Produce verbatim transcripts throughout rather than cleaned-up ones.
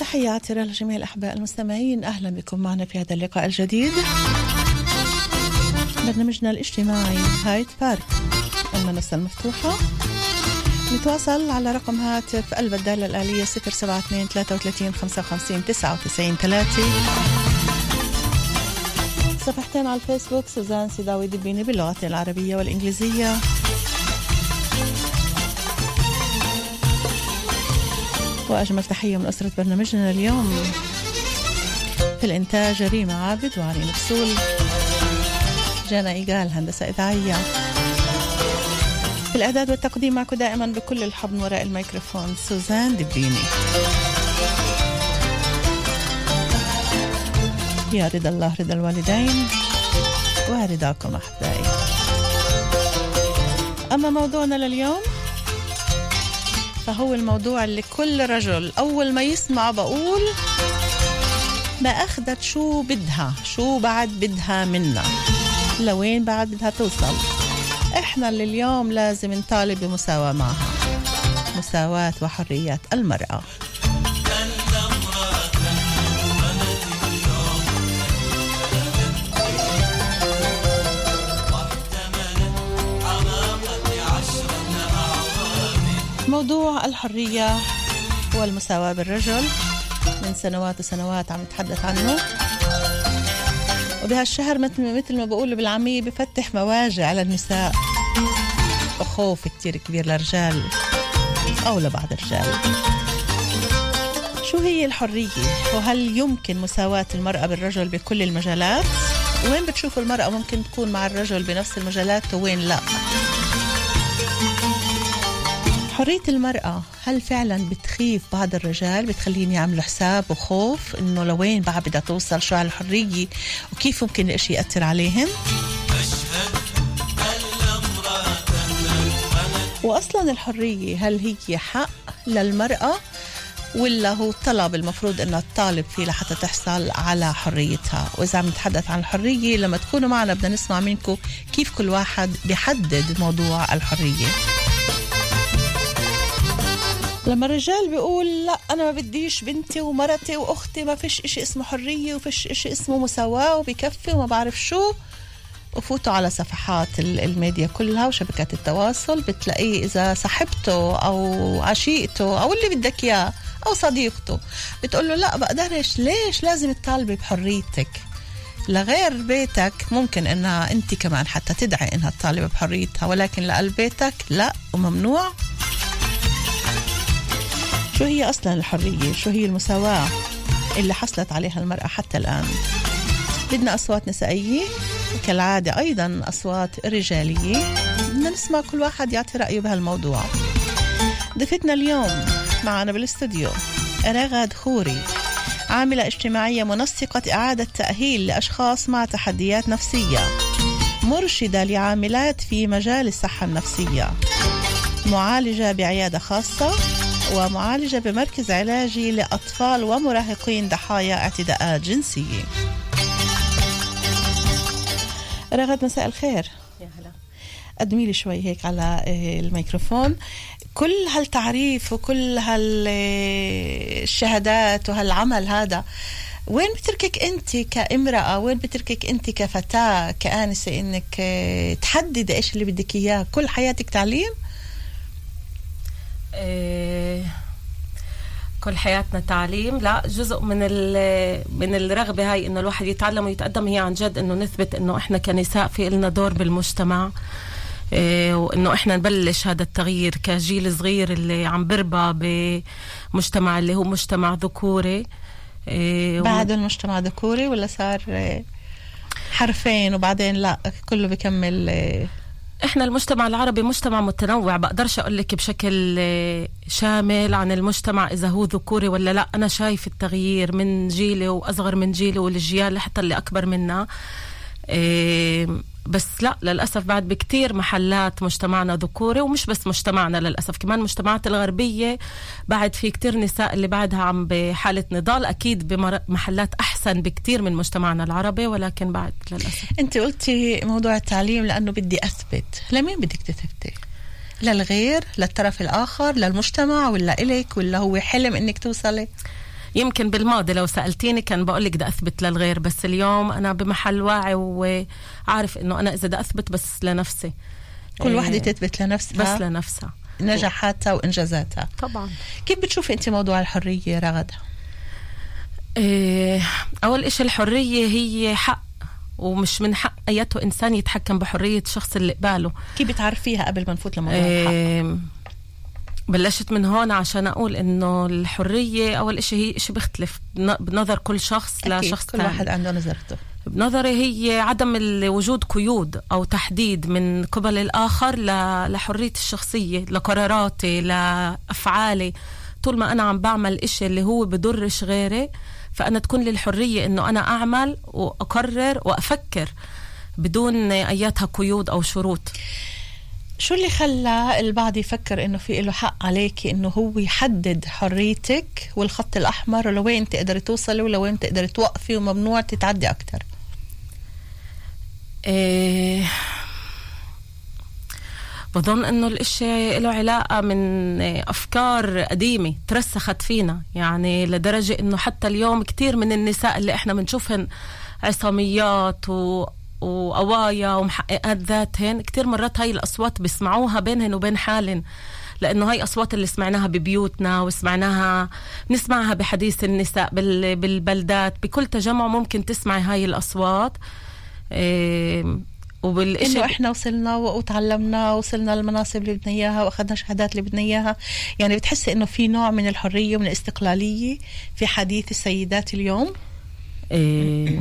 تحياتي لجميع الأحباء المستمعين، أهلا بكم معنا في هذا اللقاء الجديد برنامجنا الاجتماعي هايد بارك المنصة المفتوحة. نتواصل على رقم هاتف قلب الدالة الآلية صفر سبعة اثنين ثلاثة وثلاثين خمسة وخمسين تسعة وتسعين ثلاثة. صفحتين على الفيسبوك سوزان سيداوي دبيني باللغة العربية والإنجليزية. وأجمل تحية من أسرة برنامجنا اليوم في الإنتاج ريما عابد وعلي نفسول، جانا إيقال هندسة إذاعية، في الإعداد والتقديم معكم دائما بكل الحب وراء الميكروفون سوزان دبيني. يا رضا الله رضا الوالدين ورضاكم أحبائي. أما موضوعنا لليوم فهو الموضوع اللي كل رجل أول ما يسمع بقول ما أخذت شو بدها، شو بعد بدها منا، لوين بعد بدها توصل. إحنا اللي اليوم لازم نطالب بمساواة معها، مساواة وحريات المرأة. موضوع الحرية والمساواة بالرجل من سنوات وسنوات عم نتحدث عنه، وبهالشهر مثل مثل ما بقول بالعامية بفتح مواجع على النساء وخوف كتير كبير للرجال أو لبعض الرجال. شو هي الحرية؟ وهل يمكن مساواة المرأة بالرجل بكل المجالات؟ وين بتشوفوا المرأة ممكن تكون مع الرجل بنفس المجالات وين لا؟ حرية المرأة هل فعلا بتخيف بعض الرجال، بتخليني يعملوا حساب وخوف انه لوين بعد بدها توصل، شو على الحرية وكيف ممكن الاشي يأثر عليهم؟ واصلا الحرية هل هي حق للمرأة ولا هو طلب المفروض انها تطالب فيه لحتى تحصل على حريتها؟ واذا عم نتحدث عن الحرية لما تكونوا معنا بدنا نسمع منكم كيف كل واحد بيحدد موضوع الحرية. لما الرجال بيقول لا أنا ما بديش بنتي ومرتي وأختي، ما فيش إشي اسمه حرية وفيش إشي اسمه مساواة وبيكفي وما بعرف شو، وفوتوا على صفحات الميديا كلها وشبكات التواصل بتلاقيه إذا صاحبته أو عشيقته أو اللي بدك إياه أو صديقته بتقول له لا بقدرش، ليش لازم تطالبي بحريتك؟ لغير بيتك ممكن إنها أنت كمان حتى تدعي إنها تطالب بحريتها، ولكن لقلب بيتك لا وممنوع. شو هي أصلا الحرية؟ شو هي المساواة اللي حصلت عليها المرأة حتى الآن؟ بدنا أصوات نسائية كالعادة، أيضا أصوات رجالية، بدنا نسمع كل واحد يعطي رأيه بهالموضوع. ضيفتنا اليوم معنا بالاستوديو رغد خوري، عاملة اجتماعية منسقة إعادة تأهيل لأشخاص مع تحديات نفسية، مرشدة لعاملات في مجال الصحة النفسية، معالجة بعيادة خاصة، ومعالجة بمركز علاجي لأطفال ومراهقين ضحايا اعتداءات جنسية. رغد مساء الخير. يا هلا. قدمي لي شوي هيك على الميكروفون كل هالتعريف وكل هالشهادات وهالعمل هذا، وين بتركك أنت كامرأة، وين بتركك أنت كفتاة كآنسة إنك تحدد إيش اللي بدك إياه؟ كل حياتك تعليم؟ إيه كل حياتنا تعليم؟ لا، جزء من من الرغبة هاي إنه الواحد يتعلم ويتقدم هي عن جد إنه نثبت إنه إحنا كنساء في لنا دور بالمجتمع، إيه وإنه إحنا نبلش هذا التغيير كجيل صغير اللي عم بربى بمجتمع اللي هو مجتمع ذكوري. إيه بعد المجتمع ذكوري ولا صار حرفين وبعدين لا كله بيكمل؟ إيه احنا المجتمع العربي مجتمع متنوع، بقدرش اقول لك بشكل شامل عن المجتمع اذا هو ذكوري ولا لا. انا شايف التغيير من جيلي واصغر من جيلي والجيال حتى اللي اكبر منا، إيه بس لا للأسف بعد بكتير محلات مجتمعنا ذكوري، ومش بس مجتمعنا للأسف كمان المجتمعات الغربية بعد في كتير نساء اللي بعدها عم بحالة نضال، أكيد بمحلات أحسن بكتير من مجتمعنا العربي، ولكن بعد للأسف. أنت قلتي موضوع التعليم لأنه بدي أثبت، لمين بدك تثبتي؟ للغير، للطرف الآخر، للمجتمع، ولا إليك، ولا هو حلم إنك توصلي؟ يمكن بالماضي لو سألتيني كان بقولك ده أثبت للغير، بس اليوم أنا بمحل واعي وعارف إنه أنا إذا ده أثبت بس لنفسي. كل واحدة تثبت لنفسها، بس لنفسها نجاحاتها وإنجازاتها. طبعا. كيف بتشوفي أنت موضوع الحرية رغد؟ إيه، أول إشي الحرية هي حق، ومش من حق أيته إنسان يتحكم بحرية الشخص اللي قباله. كيف بتعرفيها قبل ما نفوت لموضوع إيه الحق؟ بلشت من هون عشان أقول إنه الحرية أول إشي هي إشي بيختلف بنظر كل شخص لشخص كل تاني. واحد عنده نظرته. بنظري هي عدم وجود قيود أو تحديد من قبل الآخر لحرية الشخصية، لقراراتي، لأفعالي. طول ما أنا عم بعمل إشي اللي هو بدرش غيري، فأنا تكون لي الحرية إنه أنا أعمل وأقرر وأفكر بدون أياتها قيود أو شروط. شو اللي خلى البعض يفكر إنه في له حق عليك إنه هو يحدد حريتك والخط الأحمر ولوين تقدر توصلي ولوين تقدر توقفي وممنوع تتعدي أكتر؟ إيه، بظن إنه الإشي له علاقة من أفكار قديمة ترسخت فينا، يعني لدرجة إنه حتى اليوم كتير من النساء اللي إحنا بنشوفهن عصاميات و وقوايا ومحققات ذاتهن، كتير مرات هاي الأصوات بيسمعوها بينهن وبين حالن، لأنه هاي أصوات اللي سمعناها ببيوتنا وسمعناها نسمعها بحديث النساء بالبلدات، بكل تجمع ممكن تسمعي هاي الأصوات. إيه، إنه إحنا وصلنا وتعلمنا وصلنا للمناصب اللي بدنا إياها وأخذنا شهادات اللي بدنا إياها. يعني بتحسي إنه في نوع من الحرية ومن الاستقلالية في حديث السيدات اليوم؟ إيه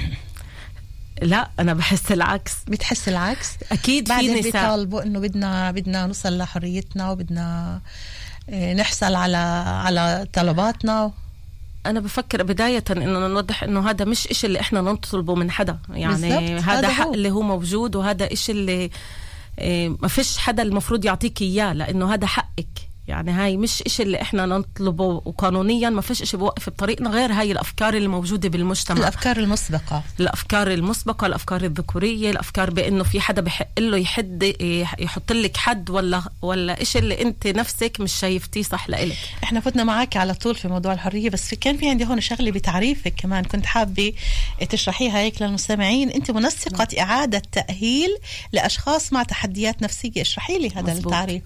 لا، أنا بحس العكس. بتحس العكس؟ أكيد. في نساء بيطالبوا إنه بدنا بدنا نوصل لحريتنا وبدنا نحصل على على طلباتنا. أنا بفكر بداية إنه نوضح إنه هذا مش إشي اللي إحنا نطلبه من حدا، يعني هذا حق اللي هو موجود، وهذا إشي اللي ما فيش حدا المفروض يعطيك إياه، لأنه هذا حقك. يعني هاي مش إشي اللي إحنا نطلبه، وقانونيا ما فيش إشي بوقف بطريقنا غير هاي الأفكار اللي موجودة بالمجتمع، الأفكار المسبقة الأفكار المسبقة الأفكار الذكورية، الأفكار بأنه في حدا بحق له يحد يحط لك حد، ولا ولا إشي اللي أنت نفسك مش شايفتيه صح لإلك. إحنا فتنا معاك على طول في موضوع الحرية، بس في كان في عندي هون شغلة بتعريفك كمان كنت حابة تشرحيها هيك للمستمعين. أنت منسقة م. إعادة تأهيل لأشخاص مع تحديات نفسية، اشرحي لي هذا مزبوط. التعريف.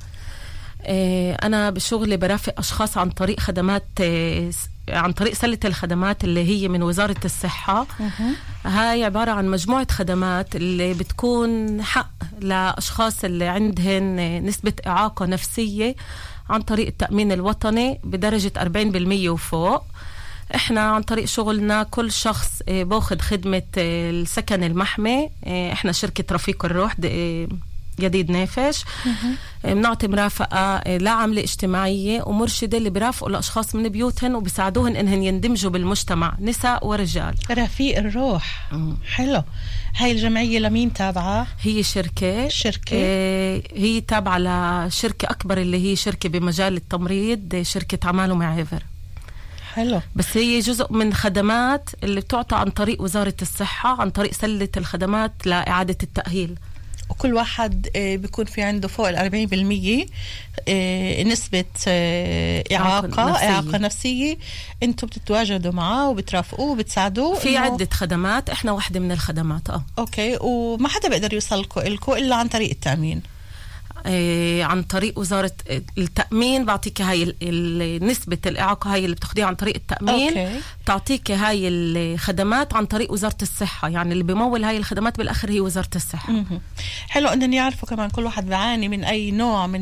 أنا بشغلي برافق أشخاص عن طريق خدمات، عن طريق سلة الخدمات اللي هي من وزارة الصحة. هاي عبارة عن مجموعة خدمات اللي بتكون حق لأشخاص اللي عندهن نسبة إعاقة نفسية عن طريق التأمين الوطني بدرجة أربعين بالمية وفوق. احنا عن طريق شغلنا كل شخص باخد خدمة السكن المحمي. احنا شركة رفيق الروح جديد نافش، بنعطي مرافقة لعملة اجتماعية ومرشدة اللي بيرافقوا الأشخاص من بيوتهن وبيساعدوهن إنهن يندمجوا بالمجتمع، نساء ورجال. رفيق الروح. مم. حلو. هاي الجمعية لمين تابعة؟ هي شركة شركة اه هي تابعة لشركة أكبر اللي هي شركة بمجال التمريض، شركة عمال ومعافر. حلو. بس هي جزء من خدمات اللي بتعطى عن طريق وزارة الصحة، عن طريق سلة الخدمات لإعادة التأهيل. وكل واحد بيكون في عنده فوق الأربعين بالمية نسبة إعاقة نفسية. إعاقة نفسية. أنتوا بتتواجدوا معاه وبترافقوه وبتساعدوه في عدة خدمات، إحنا واحدة من الخدمات. آه أوكي. وما حدا بيقدر يوصلكوا إلكوا إلا عن طريق التأمين. إيه، عن طريق وزارة التأمين بعطيك هاي نسبة الإعاقة هاي اللي بتاخديها عن طريق التأمين. أوكي. تعطيك هاي الخدمات عن طريق وزارة الصحة، يعني اللي بيمول هاي الخدمات بالآخر هي وزارة الصحة. م-م. حلو أن يعرفوا كمان كل واحد بيعاني من أي نوع من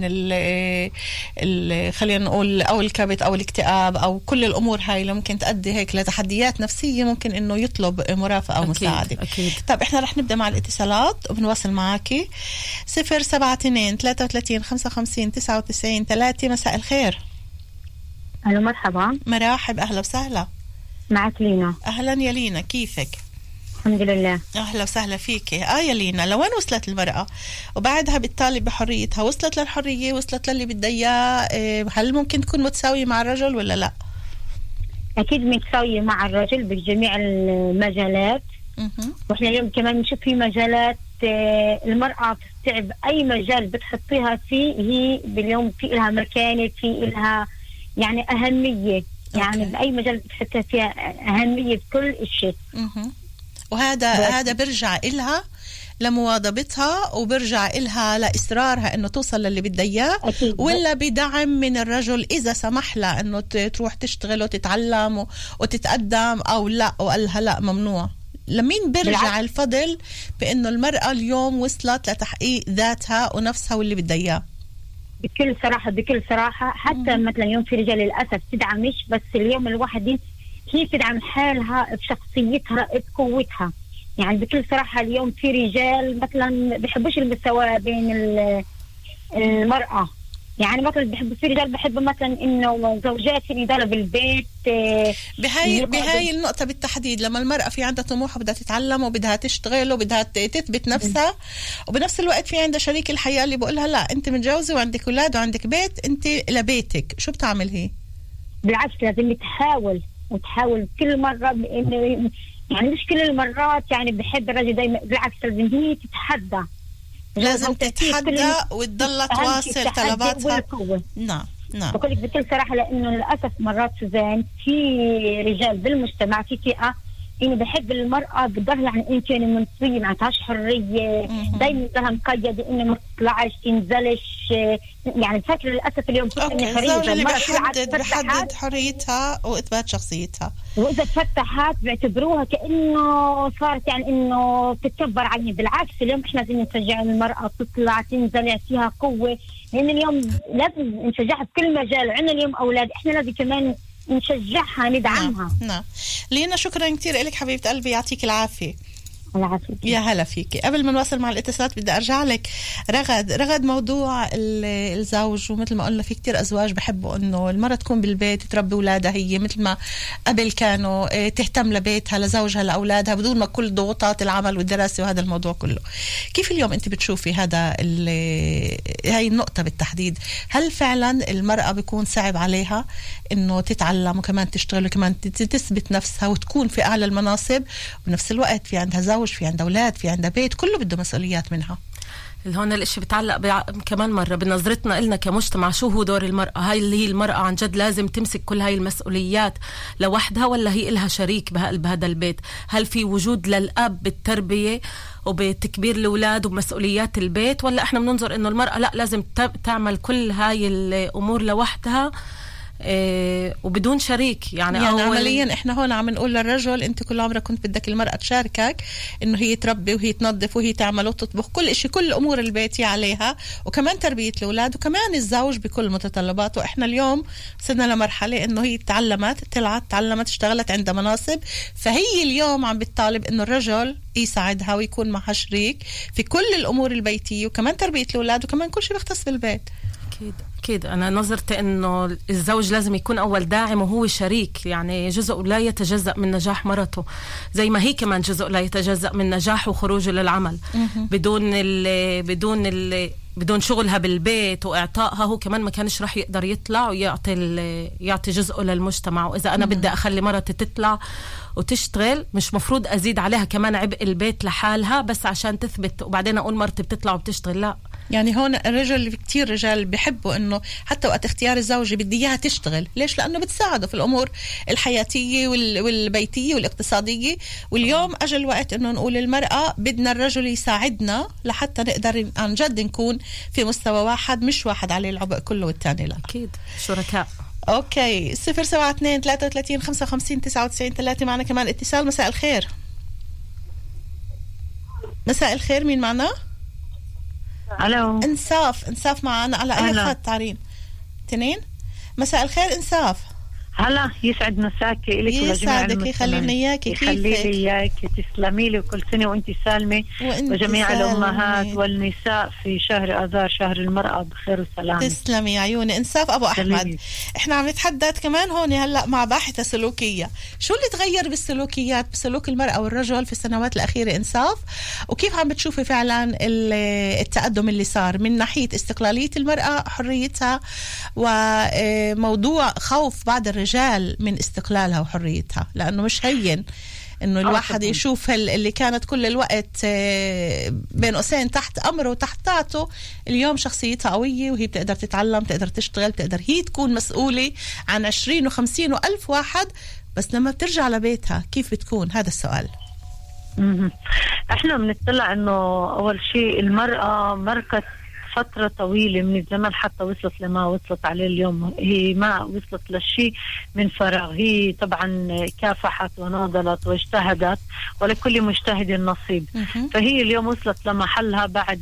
ال خلينا نقول أو الكبت أو الاكتئاب أو كل الأمور هاي اللي ممكن تؤدي هيك لتحديات نفسية، ممكن إنه يطلب مرافقة أو أكيد. مساعدة. أكيد. طب إحنا رح نبدأ مع الاتصالات وبنواصل معاكي. صفر سبعة اثنين ثلاثة وثلاثين خمسة وخمسين تسعة وتسعين ثلاثة. مساء الخير. أهلا مرحبا. مرحب، أهلا وسهلا. معك لينا. أهلا يا لينا، كيفك؟ الحمد لله. أهلا وسهلا فيك. آه يا لينا، لوين وصلت المرأة وبعدها بالتالي بحريتها؟ وصلت للحرية؟ وصلت للي بدها إياه؟ هل ممكن تكون متساوية مع الرجل ولا لا؟ أكيد متساوية مع الرجل بجميع المجالات. وإحنا اليوم كمان نشوف في مجالات المرأة تستعب أي مجال بتحطيها فيه، هي باليوم في إلها مكانة، في إلها يعني أهمية. يعني أوكي. بأي مجال بتحسها فيها أهمية بكل شيء. وهذا هذا برجع إلها لمواظبتها وبرجع إلها لإصرارها إنه توصل للي بدها إياه، ولا بدعم من الرجل إذا سمح لها إنه تروح تشتغل وتتعلم وتتقدم، أو لا وقالها لا ممنوع. لمين برجع بالعكس. الفضل بإنه المرأة اليوم وصلت لتحقيق ذاتها ونفسها واللي بدها إياه؟ بكل صراحة بكل صراحة حتى مم. مثلا اليوم في رجال للأسف تدعمش، بس اليوم الواحد هي تدعم حالها بشخصيتها بقوتها. يعني بكل صراحة اليوم في رجال مثلا بيحبوش المساواة بين المرأة، يعني مثلا بحب في رجال بحب مثلا انه زوجات يداروا بالبيت. بهاي بهاي النقطة بالتحديد، لما المرأة في عندها طموح وبدها تتعلم وبدها تشتغل وبدها تثبت نفسها، وبنفس الوقت في عندها شريك الحياة اللي بقولها لا انت متجوزة وعندك اولاد وعندك بيت، انت لبيتك، شو بتعمل هي؟ بالعكس لازم تحاول وتحاول كل مرة، يعني مش كل المرات يعني بحب الرجل دايما، بالعكس لازم هي تتحدى، لازم تتحدى وتضل تواصل طلباتها. نعم نعم. بقول لك بكل صراحة لأنه للأسف مرات سوزان في رجال بالمجتمع في فئة إنه بحب المرأة بتضل يعني أنت يعني منطوية ما عندهاش حرية، دايما لها مقيدة إنه ما تطلعش تنزلش، يعني بفكر للأسف اليوم كل إنه حرية المرأة بحدد بحدد حريتها وإثبات شخصيتها، وإذا تفتحت بيعتبروها كأنه صارت يعني إنه تتكبر عليه. بالعكس اليوم إحنا لازم نشجع المرأة تطلع تنزل فيها قوة، لأن اليوم لازم نشجعها في كل مجال. عندنا اليوم أولاد إحنا لازم كمان نشجعها ندعمها. نعم, نعم. لينا شكرا كتير لك حبيبة قلبي، يعطيك العافية. يا هلا فيكي. قبل ما نواصل مع الاتصالات بدي ارجع لك رغد. رغد موضوع الزوج، ومثل ما قلنا في كتير ازواج بحبوا انه المرأة تكون بالبيت تربي اولادها هي مثل ما قبل كانوا تهتم لبيتها لزوجها لاولادها بدون ما كل ضغوطات العمل والدراسة وهذا الموضوع كله. كيف اليوم انت بتشوفي هذا هاي النقطة بالتحديد؟ هل فعلا المرأة بيكون صعب عليها انه تتعلم وكمان تشتغل وكمان تثبت نفسها وتكون في اعلى المناصب، وبنفس الوقت في عندها زوج، في عندها أولاد، في عندها بيت، كله بده مسؤوليات منها؟ هون الاشي بتعلق بع... كمان مرة بنظرتنا إلنا كمجتمع. شو هو دور المرأة؟ هاي اللي هي المرأة عن جد لازم تمسك كل هاي المسؤوليات لوحدها، ولا هي إلها شريك بهذا البيت؟ هل في وجود للأب بالتربية وبتكبير الأولاد ومسؤوليات البيت، ولا إحنا بننظر إنه المرأة لا لازم تعمل كل هاي الأمور لوحدها إيه وبدون شريك؟ يعني, يعني عمليا احنا هون عم نقول للرجل انت كل عمرك كنت بدك المرأة تشاركك انه هي تربي وهي تنظف وهي تعمل وتطبخ كل اشي، كل امور البيت عليها، وكمان تربية الاولاد، وكمان الزوج بكل متطلباته. احنا اليوم صرنا لمرحلة انه هي تعلمت طلعت تعلمت اشتغلت عندها مناصب، فهي اليوم عم بتطالب انه الرجل يساعدها ويكون معها شريك في كل الامور البيتية وكمان تربية الاولاد وكمان كل شيء بيختص بالبيت. أكيد أكيد. أنا نظرت إنه الزوج لازم يكون أول داعم وهو شريك، يعني جزء لا يتجزأ من نجاح مرته، زي ما هي كمان جزء لا يتجزأ من نجاح وخروجه للعمل. بدون ال بدون ال بدون شغلها بالبيت وإعطائها هو كمان ما كانش راح يقدر يطلع ويعطي يعطي جزءه للمجتمع. وإذا أنا بدي أخلي مرتي تطلع وتشتغل مش مفروض أزيد عليها كمان عبء البيت لحالها بس عشان تثبت وبعدين أقول مرتي بتطلع وبتشتغل. لا، يعني هون الرجل كتير رجال بيحبوا انه حتى وقت اختيار الزوجة بدي اياها تشتغل. ليش؟ لانه بتساعده في الامور الحياتية والبيتية والاقتصادية. واليوم اجى الوقت انه نقول المرأة بدنا الرجل يساعدنا لحتى نقدر عن جد نكون في مستوى واحد، مش واحد عليه العبء كله والتاني لا. اكيد شركاء. اوكي، صفر سبعة اثنين ثلاثة وثلاثين خمسة وخمسين تسعة وتسعين ثلاثة. معنا كمان اتصال. مساء الخير. مساء الخير، مين معنا؟ الو. انصاف. انصاف معنا على اي خط تعرين؟ اثنين. مساء الخير انصاف. هلا، يسعد مساكي لك ولجميع المسلمين. يخليني اياكي. يخلي لي اياكي، تسلمي لي، وكل سنه وانت سالمه وجميع سالمي. الامهات والنساء في شهر اذار شهر المراه بخير وسلامه. تسلمي يا عيوني. انصاف ابو احمد سلمي. احنا عم نتحدث كمان هون هلا مع باحثه سلوكيه، شو اللي تغير بالسلوكيات بسلوك المراه والرجل في السنوات الاخيره انصاف، وكيف عم بتشوفي فعلا التقدم اللي صار من ناحيه استقلاليه المراه حريتها وموضوع خوف بعض الرجال من استقلالها وحريتها، لأنه مش هين انه الواحد يشوف اللي كانت كل الوقت بين قوسين تحت امره وتحت طاعته، اليوم شخصيتها قويه وهي بتقدر تتعلم، تقدر تشتغل، تقدر هي تكون مسؤوله عن عشرين وخمسين والف واحد. بس لما بترجع لبيتها كيف بتكون؟ هذا السؤال. احنا بنطلع انه اول شيء المرأة مركت فترة طويلة من الزمن حتى وصلت لما وصلت عليه اليوم. هي ما وصلت للشيء من فراغ، هي طبعا كافحت وناضلت واجتهدت، ولكل مجتهد نصيب. فهي اليوم وصلت لمحلها بعد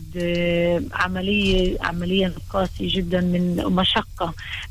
عملية عملية قاسية جدا من مشقة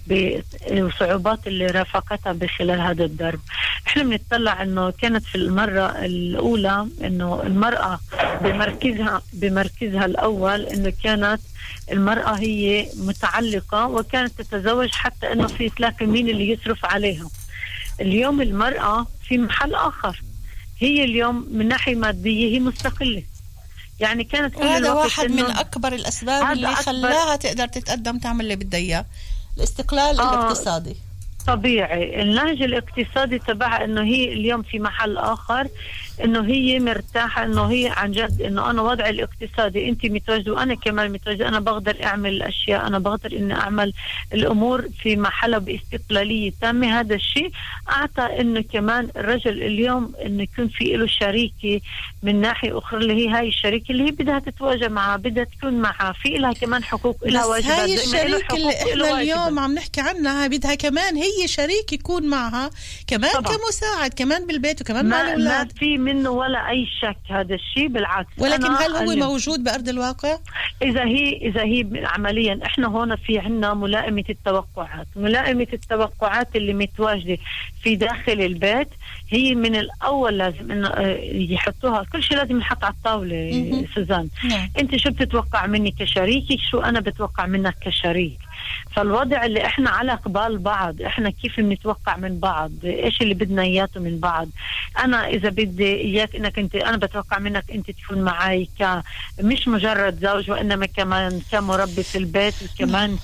وصعوبات اللي رافقتها بخلال هذا الدرب. احنا بنطلع انه كانت في المرة الاولى انه المرأة بمركزها بمركزها الاول انه كانت المرأة هي متعلقة وكانت تتزوج حتى انه في تلاقي مين اللي يصرف عليها. اليوم المرأة في محل اخر، هي اليوم من ناحية مادية هي مستقلة. يعني كانت كل هذا واحد من اكبر الاسباب اللي خلاها تقدر تتقدم تعمل اللي بدها اياه، الاستقلال آه الاقتصادي. طبيعي النهج الاقتصادي تبعها انه هي اليوم في محل اخر، انه هي مرتاحه، انه هي عن جد انه انا وضعي الاقتصادي انت متواجده وانا كمان متواجده، انا بقدر اعمل الاشياء، انا بقدر اني اعمل الامور في محلها باستقلاليه تامه. هذا الشيء اعطى انه كمان الرجل اليوم انه يكون في له شريكه من ناحيه اخرى، اللي هي هاي الشريكه اللي هي بدها تتواجد معها، بدها تكون معها، في لها كمان حقوق، لها واجبات. هاي الشريكه اللي احنا اليوم عم نحكي عنها بدها كمان هي شريك يكون معها كمان طبعا. كمساعد كمان بالبيت وكمان مع الاولاد، ما في منه ولا اي شك هذا الشيء، بالعكس. ولكن هل هو موجود بارض الواقع؟ اذا هي اذا هي عمليا احنا هون في عندنا ملائمه التوقعات، ملائمه التوقعات اللي متواجده في داخل البيت هي من الاول لازم انه يحطوها، كل شيء لازم يحط على الطاوله. سوزان نعم. انت شو بتتوقع مني كشريكي، شو انا بتوقع منك كشريك. فالوضع اللي احنا على قبال بعض، احنا كيف بنتوقع من بعض، ايش اللي بدنا اياته من بعض. انا اذا بدي اياك انك انت، انا بتوقع منك انت تكون معي ك مش مجرد زوج، وانما كمان كمربي في البيت، وكمان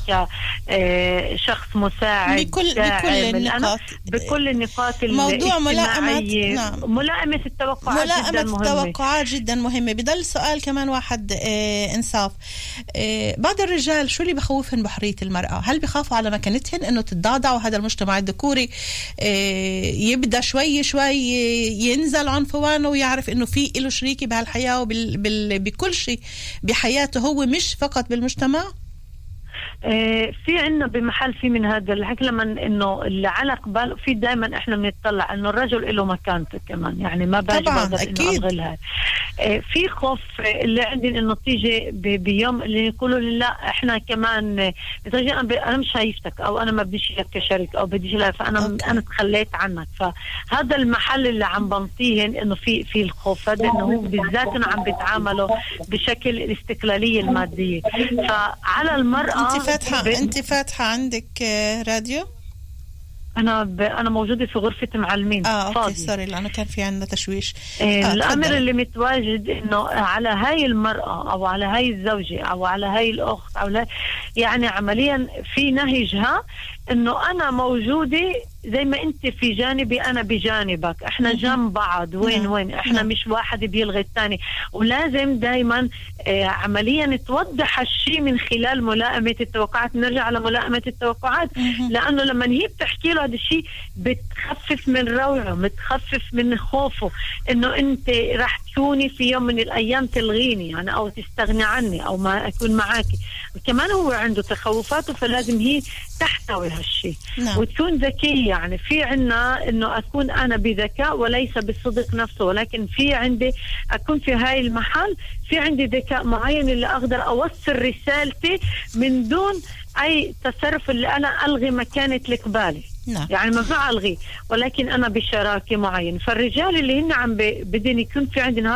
كشخص مساعد بكل بكل النقاط بكل النقاط موضوع ملائمة نعم. ملائمة التوقعات ملائمة جدا مهمة. التوقعات جدا مهمة. بدل سؤال كمان واحد اه انصاف، اه بعض الرجال شو اللي بخوفهم بحرية المرأة؟ هل بخافوا على مكانتهن انه تتضعضع وهذا المجتمع الذكوري اه يبدا شوي شوي ينزل عنفوانه ويعرف انه في له شريكي بهالحياة وبكل شيء بحياته، هو مش فقط بالمجتمع؟ آه في عنا بمحل في من هذا الحكي لما انه اللي على قبال في دائما احنا بنطلع انه الرجل له مكانته كمان، يعني ما باجي بقدر انه الغلها. آه في خوف اللي عندي انه تيجي بيوم اللي يقولوا لي لا احنا كمان انا انا مش شايفتك، او انا ما بديش لك كشريك، او بديش لك، فانا أوكي. انا تخليت عنك. فهذا المحل اللي عم بنطيهن انه في في الخوف هذا، انه هو بالذات انه عم بيتعاملوا بشكل الاستقلاليه الماديه. فعلى المراه انت فاتحه ب... انت فاتحه عندك راديو؟ انا ب... انا موجوده في غرفه معلمين. اه اوكي فاضي. سوري لانه كان في عندنا تشويش. آه آه الامر تفضل. اللي متواجد انه على هاي المراه او على هاي الزوجه او على هاي الاخت او لا، يعني عمليا في نهجها انه انا موجوده زي ما انت في جانبي انا بجانبك، احنا جنب بعض. وين نعم. وين احنا نعم. مش واحد بيلغي الثاني. ولازم دايما آه عمليا توضح الشيء من خلال ملائمه التوقعات. نرجع على ملائمه التوقعات، لانه لما هي بتحكي له هذا الشيء بتخفف من روعه، بتخفف من خوفه انه انت راح تكوني في يوم من الايام تلغيني يعني، او تستغني عني، او ما اكون معاكي. وكمان هو عنده تخوفاته، فلازم هي تحتوي هالشيء نعم. وتكون ذكيه. يعني في عنا انه اكون انا بذكاء وليس بالصدق نفسه، ولكن في عندي اكون في هاي المحل في عندي ذكاء معين اللي اقدر اوصل رسالتي من دون اي تصرف اللي انا الغي مكانة القبالي نعم. يعني ممنوع الغي، ولكن انا بشراكه معين. فالرجال اللي هن عم بدهم يكون في عندنا هذا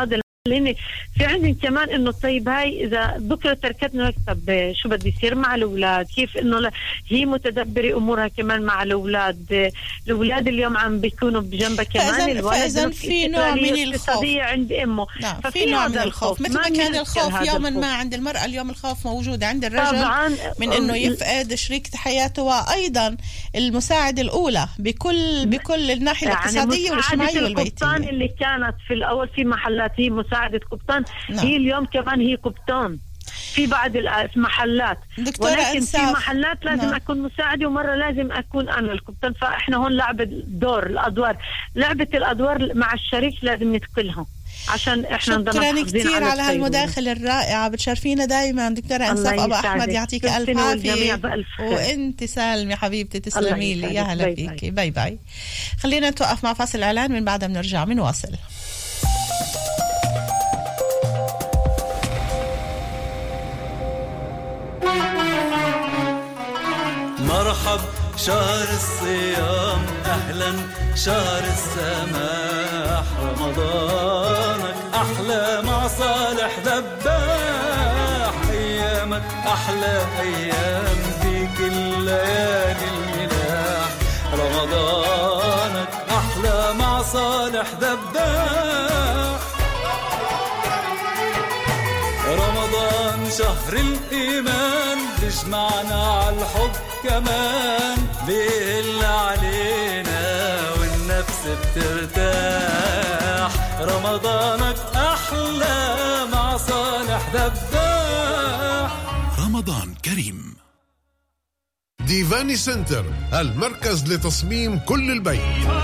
لاني في عندي كمان انه طيب هاي اذا بكره تركتنا طب شو بدي يصير مع الاولاد؟ كيف انه لا هي متدبره امورها كمان مع الاولاد. الاولاد اليوم عم بيكونوا بجنبها كمان. الولد في نوع من الخوف عند امه. نعم في نوع من الخوف مثل ما كان الخوف يوما ما عند المراه، اليوم الخوف موجود عند الرجل طبعاً من انه يفقد شريكة حياته، وايضا المساعده الاولى بكل بكل الناحيه يعني الاقتصاديه والاجتماعيه والبيتيه. القبطان اللي كانت في الاول في محلات هي مساعده قبطان، نعم. هي اليوم كمان هي قبطان في بعض المحلات، ولكن في محلات لازم نعم. أكون مساعدة ومرة لازم أكون أنا القبطان. فإحنا هون لعبة دور الأدوار، لعبة الأدوار مع الشريك لازم ندخلها عشان إحنا نضل شكرا كثير على هالمداخلة الرائعة، بتشرفينا دائما دكتورة أنساب أبو أحمد، يعطيك ألف عافية. وأنت سالمة حبيبتي، تسلمي لي، يا هلا فيكي. باي باي. خلينا نتوقف مع فاصل إعلان، من بعدها بنرجع بنواصل. مرحب شهر الصيام، أهلا شهر السماح، رمضانك أحلى مع صالح ذباح، أيامك أحلى أيام في كل ليالي الملاح، رمضانك أحلى مع صالح ذباح. رمضان شهر الإيمان بيجمعنا على الحب كمان، بيهل علينا والنفس بترتاح، رمضانك أحلى مع صالح ذباح. رمضان كريم. ديفاني سنتر، المركز لتصميم كل البيت،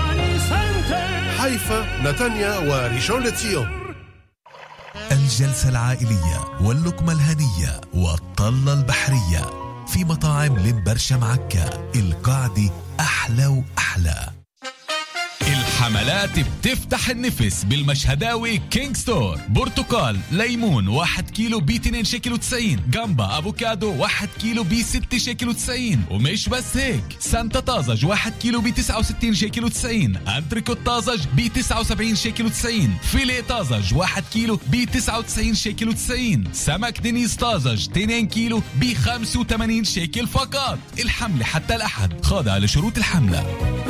حيفا، نتانيا وريشون لتسيون. الجلسة العائلية واللقمة الهنية والطلة البحرية في مطاعم لمبرشة معكا، القعدة أحلى وأحلى. الحملات بتفتح النفس بالمشهداوي كينج ستور. برتقال ليمون واحد كيلو ب اثنين شيكل وتسعين، جامبا افوكادو واحد كيلو ب ستة شيكل وتسعين. ومش بس هيك، سانتا طازج واحد كيلو ب تسعة وستين شيكل وتسعين، انتريكوت طازج ب تسعة وسبعين شيكل وتسعين، فيليه طازج واحد كيلو ب تسعة وتسعين شيكل وتسعين، سمك دينيس طازج اثنين كيلو ب خمسة وثمانين شيكل فقط. الحملة حتى الأحد، خاضعة لشروط الحملة.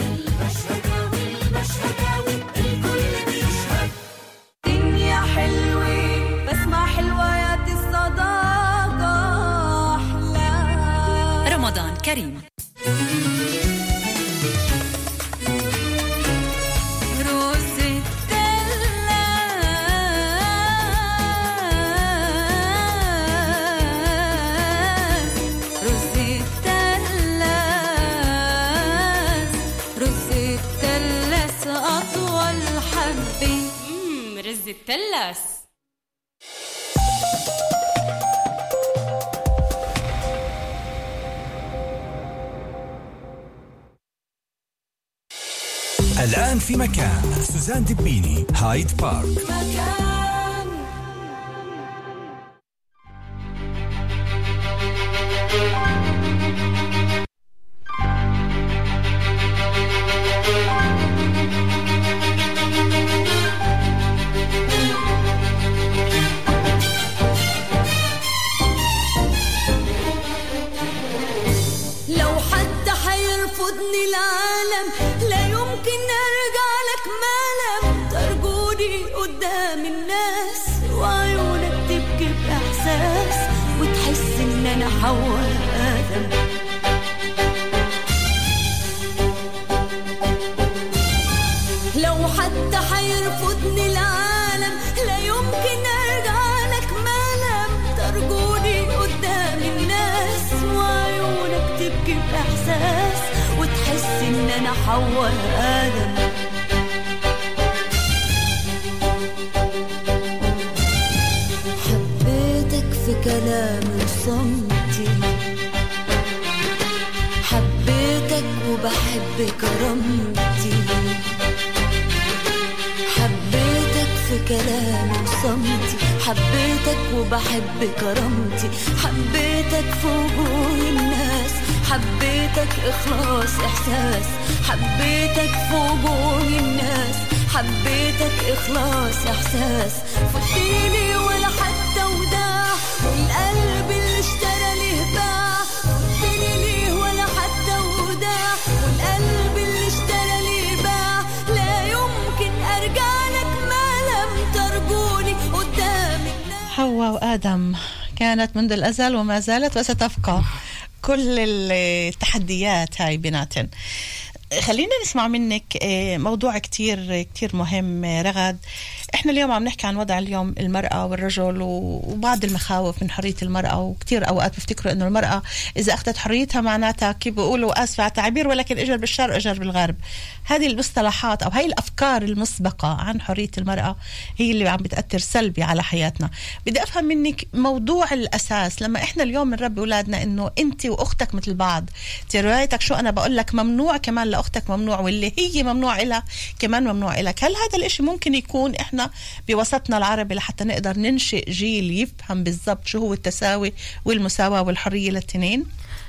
مشهداوي الكل بيشهد، دنيا حلوة بسمع حلويات الصداقة أحلى. رمضان كريم. التلاس. الآن في مكان سوزان دبيني، هايد بارك. مكان. العالم لا يمكن أرجع لك مالم، ترجوني قدام الناس وعيونك تبكي بإحساس وتحس إن أنا حواء آدم. لو حتى حيرفضني العالم لا يمكن أرجع لك مالم، ترجوني قدام الناس وعيونك تبكي بإحساس وتحس إن أنا حواء آدم. حبيتك في كلامي وصمتي، حبيتك وبحب كرامتي، حبيتك في كلامي وصمتي، حبيتك وبحب كرامتي، حبيتك في وجوه الناس، حبيتك إخلاص إحساس، حبيتك في وجوه الناس، حبيتك إخلاص إحساس فتيلي ولا حتى وداع والقلب اللي اشترى ليه باع فتيلي ليه ولا حتى وداع والقلب اللي اشترى ليه باع لا يمكن أرجع لك ما لم ترجوني قدامك. حواء وآدم كانت منذ الأزل وما زالت وستبقى كل التحديات هاي بيناتن. خلينا نسمع منك موضوع كتير كتير مهم رغد. احنا اليوم عم نحكي عن وضع اليوم المرأة والرجل وبعض المخاوف من حرية المرأة، وكتير اوقات بفتكروا انه المرأة اذا اخذت حريتها معناتها كيف بيقولوا اسف على التعبير ولكن اجر بالشرق اجر بالغرب. هذه المصطلحات او هاي الافكار المسبقة عن حرية المرأة هي اللي عم بتأثر سلبي على حياتنا. بدي افهم منك موضوع الاساس لما احنا اليوم بنربي اولادنا انه انت واختك مثل بعض، روايتك شو انا بقول لك ممنوع كمان لاختك ممنوع، واللي هي ممنوع لها كمان ممنوع لك. هل هذا الاشي ممكن يكون احنا بوسطنا العربي لحتى نقدر ننشئ جيل يفهم بالضبط شو هو التساوي والمساواة والحرية للتنين؟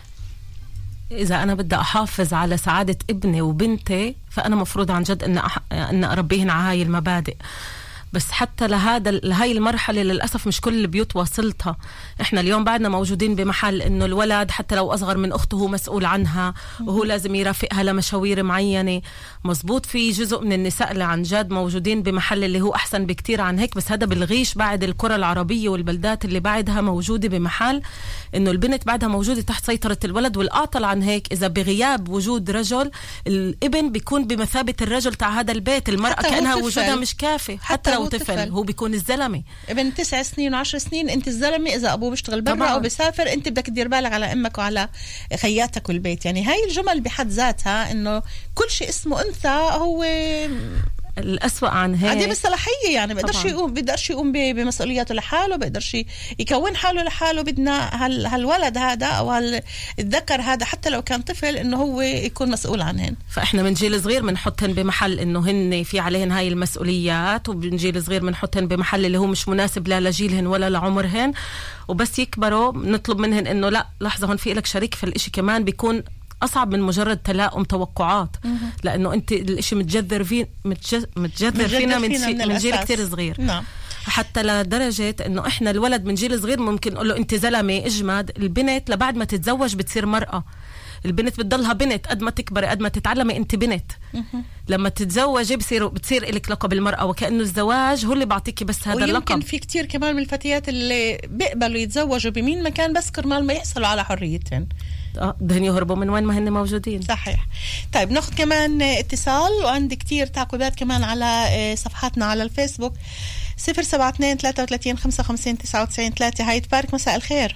إذا أنا بدي أحافظ على سعادة ابني وبنتي فأنا مفروض عن جد أن أح... أن أربيهن على هاي المبادئ. بس حتى لهذا لهاي المرحلة للأسف مش كل البيوت واصلتها. إحنا اليوم بعدنا موجودين بمحل إنه الولد حتى لو أصغر من أخته هو مسؤول عنها وهو لازم يرافقها لمشاوير معينة. مزبوط في جزء من النساء اللي عن جد موجودين بمحل اللي هو أحسن بكتير عن هيك، بس هذا بالغيش بعد القرى العربية والبلدات اللي بعدها موجودة بمحل إنه البنت بعدها موجودة تحت سيطرة الولد. والأعطل عن هيك إذا بغياب وجود رجل الابن بيكون بمثابة الرجل تاع هذا البيت، المرأة كأنها وجودها مش كافي. حتى, حتى لو طفل. طفل هو بيكون الزلمة ابن تسع سنين وعشر سنين انت الزلمة، اذا ابوه بيشتغل برا او بيسافر انت بدك تدير بالك على امك وعلى خياتك والبيت. يعني هاي الجمل بحد ذاتها انه كل شيء اسمه انثى هو الأسوأ عن هيك. هذه بالصلاحية يعني بقدرش يقوم بقدرش يقوم بمسؤولياته لحاله، بقدرش يكون حاله لحاله. بدنا هال هالولد هذا أو هالذكر هذا حتى لو كان طفل إنه هو يكون مسؤول عنهن. فإحنا من جيل صغير بنحطهن بمحل إنه هن في عليهن هاي المسؤوليات، ومن جيل صغير بنحطهن بمحل اللي هو مش مناسب لا لجيلهن ولا لعمرهن. وبس يكبروا نطلب منهن إنه لا لحظة هون في لك شريك في الإشي، كمان بيكون أصعب من مجرد تلاؤم توقعات. مم. لأنه أنت الإشي متجذر في متجذر, متجذر فينا من, من, من جيل كتير صغير. نعم. حتى لدرجة إنه إحنا الولد من جيل صغير ممكن نقول له أنت زلمة اجمد. البنت لبعد ما تتزوج بتصير مرأة. البنت بتضلها بنت قد ما تكبر قد ما تتعلمي أنت بنت. مم. لما تتزوجي بصير بتصير إلك لقب المرأة، وكأنه الزواج هو اللي بعطيكي بس هذا اللقب. ويمكن في كتير كمان من الفتيات اللي بيقبلوا يتزوجوا بمين مكان بس كرمال ما يحصلوا على حريتهم. اه دهن يهربوا من وين ما هن موجودين. صحيح. طيب ناخذ كمان اتصال، وعندي كتير تعقيبات كمان على صفحاتنا على الفيسبوك. صفر سبعة اثنين ثلاثة وثلاثين خمسة وخمسين تسعة وتسعين ثلاثة. هاي تبارك، مساء الخير.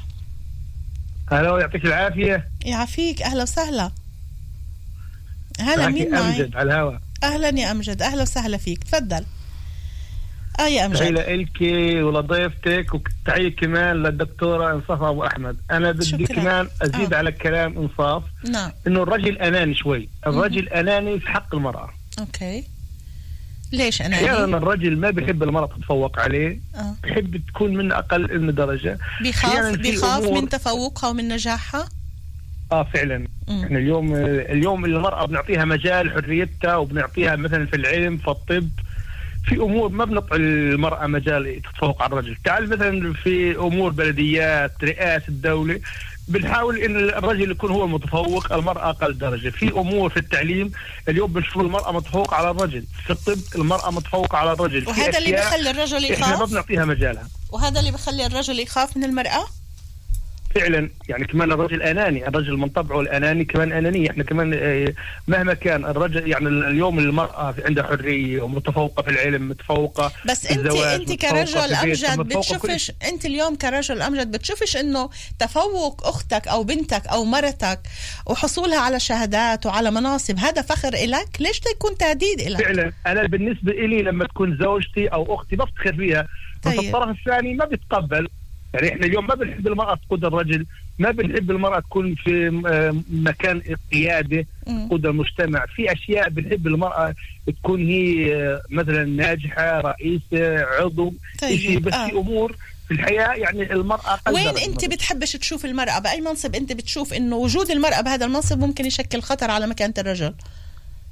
هلا يعطيك العافية. يعافيك، أهلا وسهلا. هلا مين معي؟ أمجد على الهواء. أهلا يا أمجد، أهلا وسهلا فيك، تفضل. اه يا امجد. تحية لك ولضيفتك، وتحية كمان للدكتورة انصاف ابو احمد. انا بدي كمان ازيد آه. على الكلام انصاف. نعم. انه الرجل اناني شوي، الرجل م- اناني في حق المرأة. اوكي. ليش اناني؟ احيانا الرجل ما بيحب المرأة تتفوق عليه، آه. بيحب تكون من اقل من درجة، بيخاف بيخاف من تفوقها ومن نجاحها. اه فعلا. م- احنا اليوم اليوم المرأة بنعطيها مجال حريتها، وبنعطيها مثلا في العلم في الطب، في امور ما بنطع المراه مجال تتفوق على الرجل. تعال مثلا في امور بلديات رئاسه الدوله بنحاول ان الرجل يكون هو المتفوق، المراه اقل درجه. في امور في التعليم اليوم بنشوف المراه متفوقه على الرجل، في الطب المراه متفوقه على الرجل. وهذا اللي بيخلي الرجل يخاف. احنا ما بنعطيها مجالها، وهذا اللي بيخلي الرجل يخاف من المراه فعلا. يعني كمان الرجل اناني، الرجل من طبعه الاناني كمان انانيه. احنا كمان مهما كان الرجل، يعني اليوم المراه عندها حريه ومتفوقه في العلم، متفوقه بس انت انت كرجل امجد بتشوفش، انت اليوم كرجل امجد بتشوفش انه تفوق اختك او بنتك او مرتك وحصولها على شهادات وعلى مناصب هذا فخر إلك؟ ليش تكون تهديد إلك؟ فعلا انا بالنسبه إلي لما تكون زوجتي او اختي بفتخر فيها. طيب. بس الطرف الثاني ما بيتقبل. يعني احنا اليوم ما بنحب المرأة تقود الرجل، ما بنحب المرأة تكون في مكان قيادة تقود المجتمع. في أشياء بنحب المرأة تكون هي مثلا ناجحة، رئيسة، عضو. طيب. شيء بس آه. في أمور في الحياة يعني المرأة وين أنت بتحبش تشوف المرأة بأي منصب؟ أنت بتشوف إنه وجود المرأة بهذا المنصب ممكن يشكل خطر على مكانة الرجل؟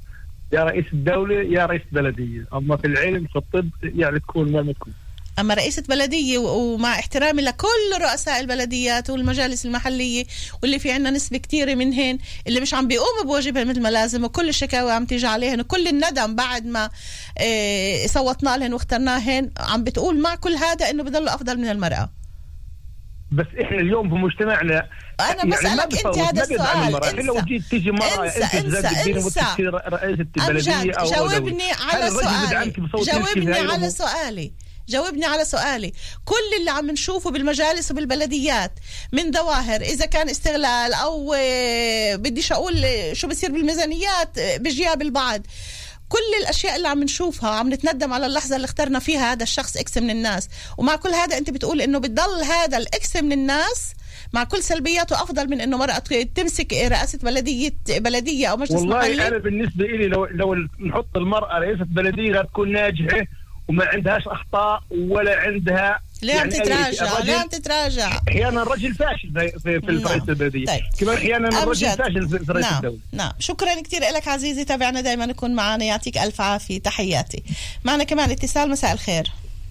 يا رئيس الدولة يا رئيس بلدية. أما في العلم في الطب يعني تكون ما تكون. أما رئيسة بلدية ومع احترامي لكل رؤساء البلديات والمجالس المحلية واللي في عنا نسبة كتيرة منهن اللي مش عم بيقوموا بواجبها مثل ما لازم، وكل الشكاوى عم تيجي عليهن وكل الندم بعد ما اه صوتنا لهن واخترناهن عم بتقول مع كل هذا إنه بضلوا أفضل من المرأة. بس إحنا اليوم في مجتمعنا أنا يعني بسألك أنت هذا السؤال. انسى لو جيت تيجي مرة انسى أنت انسى انسى رئيسة البلدية أو جاوبني على سؤالي جاوبني على سؤالي جاوبني على سؤالي. كل اللي عم نشوفه بالمجالس وبالبلديات من ظواهر إذا كان استغلال أو بديش أقول شو بصير بالميزانيات بجياب البعض، كل الأشياء اللي عم نشوفها عم نتندم على اللحظة اللي اخترنا فيها هذا الشخص إكس من الناس. ومع كل هذا أنت بتقول إنه بتضل هذا الإكس من الناس مع كل سلبياته أفضل من إنه مرأة تمسك رئاسة بلدية بلدية أو مجلس والله محلي. والله أنا بالنسبة إلي لو لو نحط المرأة رئيسة بلدية تكون ناجحة وما عندهاش أخطاء ولا عندها. ليه عم يعني تتراجع؟ ليه عم تتراجع؟ أحيانا الرجل فاشل في في, في نعم. رئيس البلدية. طيب. كمان أحيانا الرجل فاشل في رئيس نعم. الدولة. نعم شكرا كتير لك عزيزي، تابعنا دائما نكون معنا، يعطيك ألف عافية، تحياتي. معنا كمان اتصال. مساء الخير.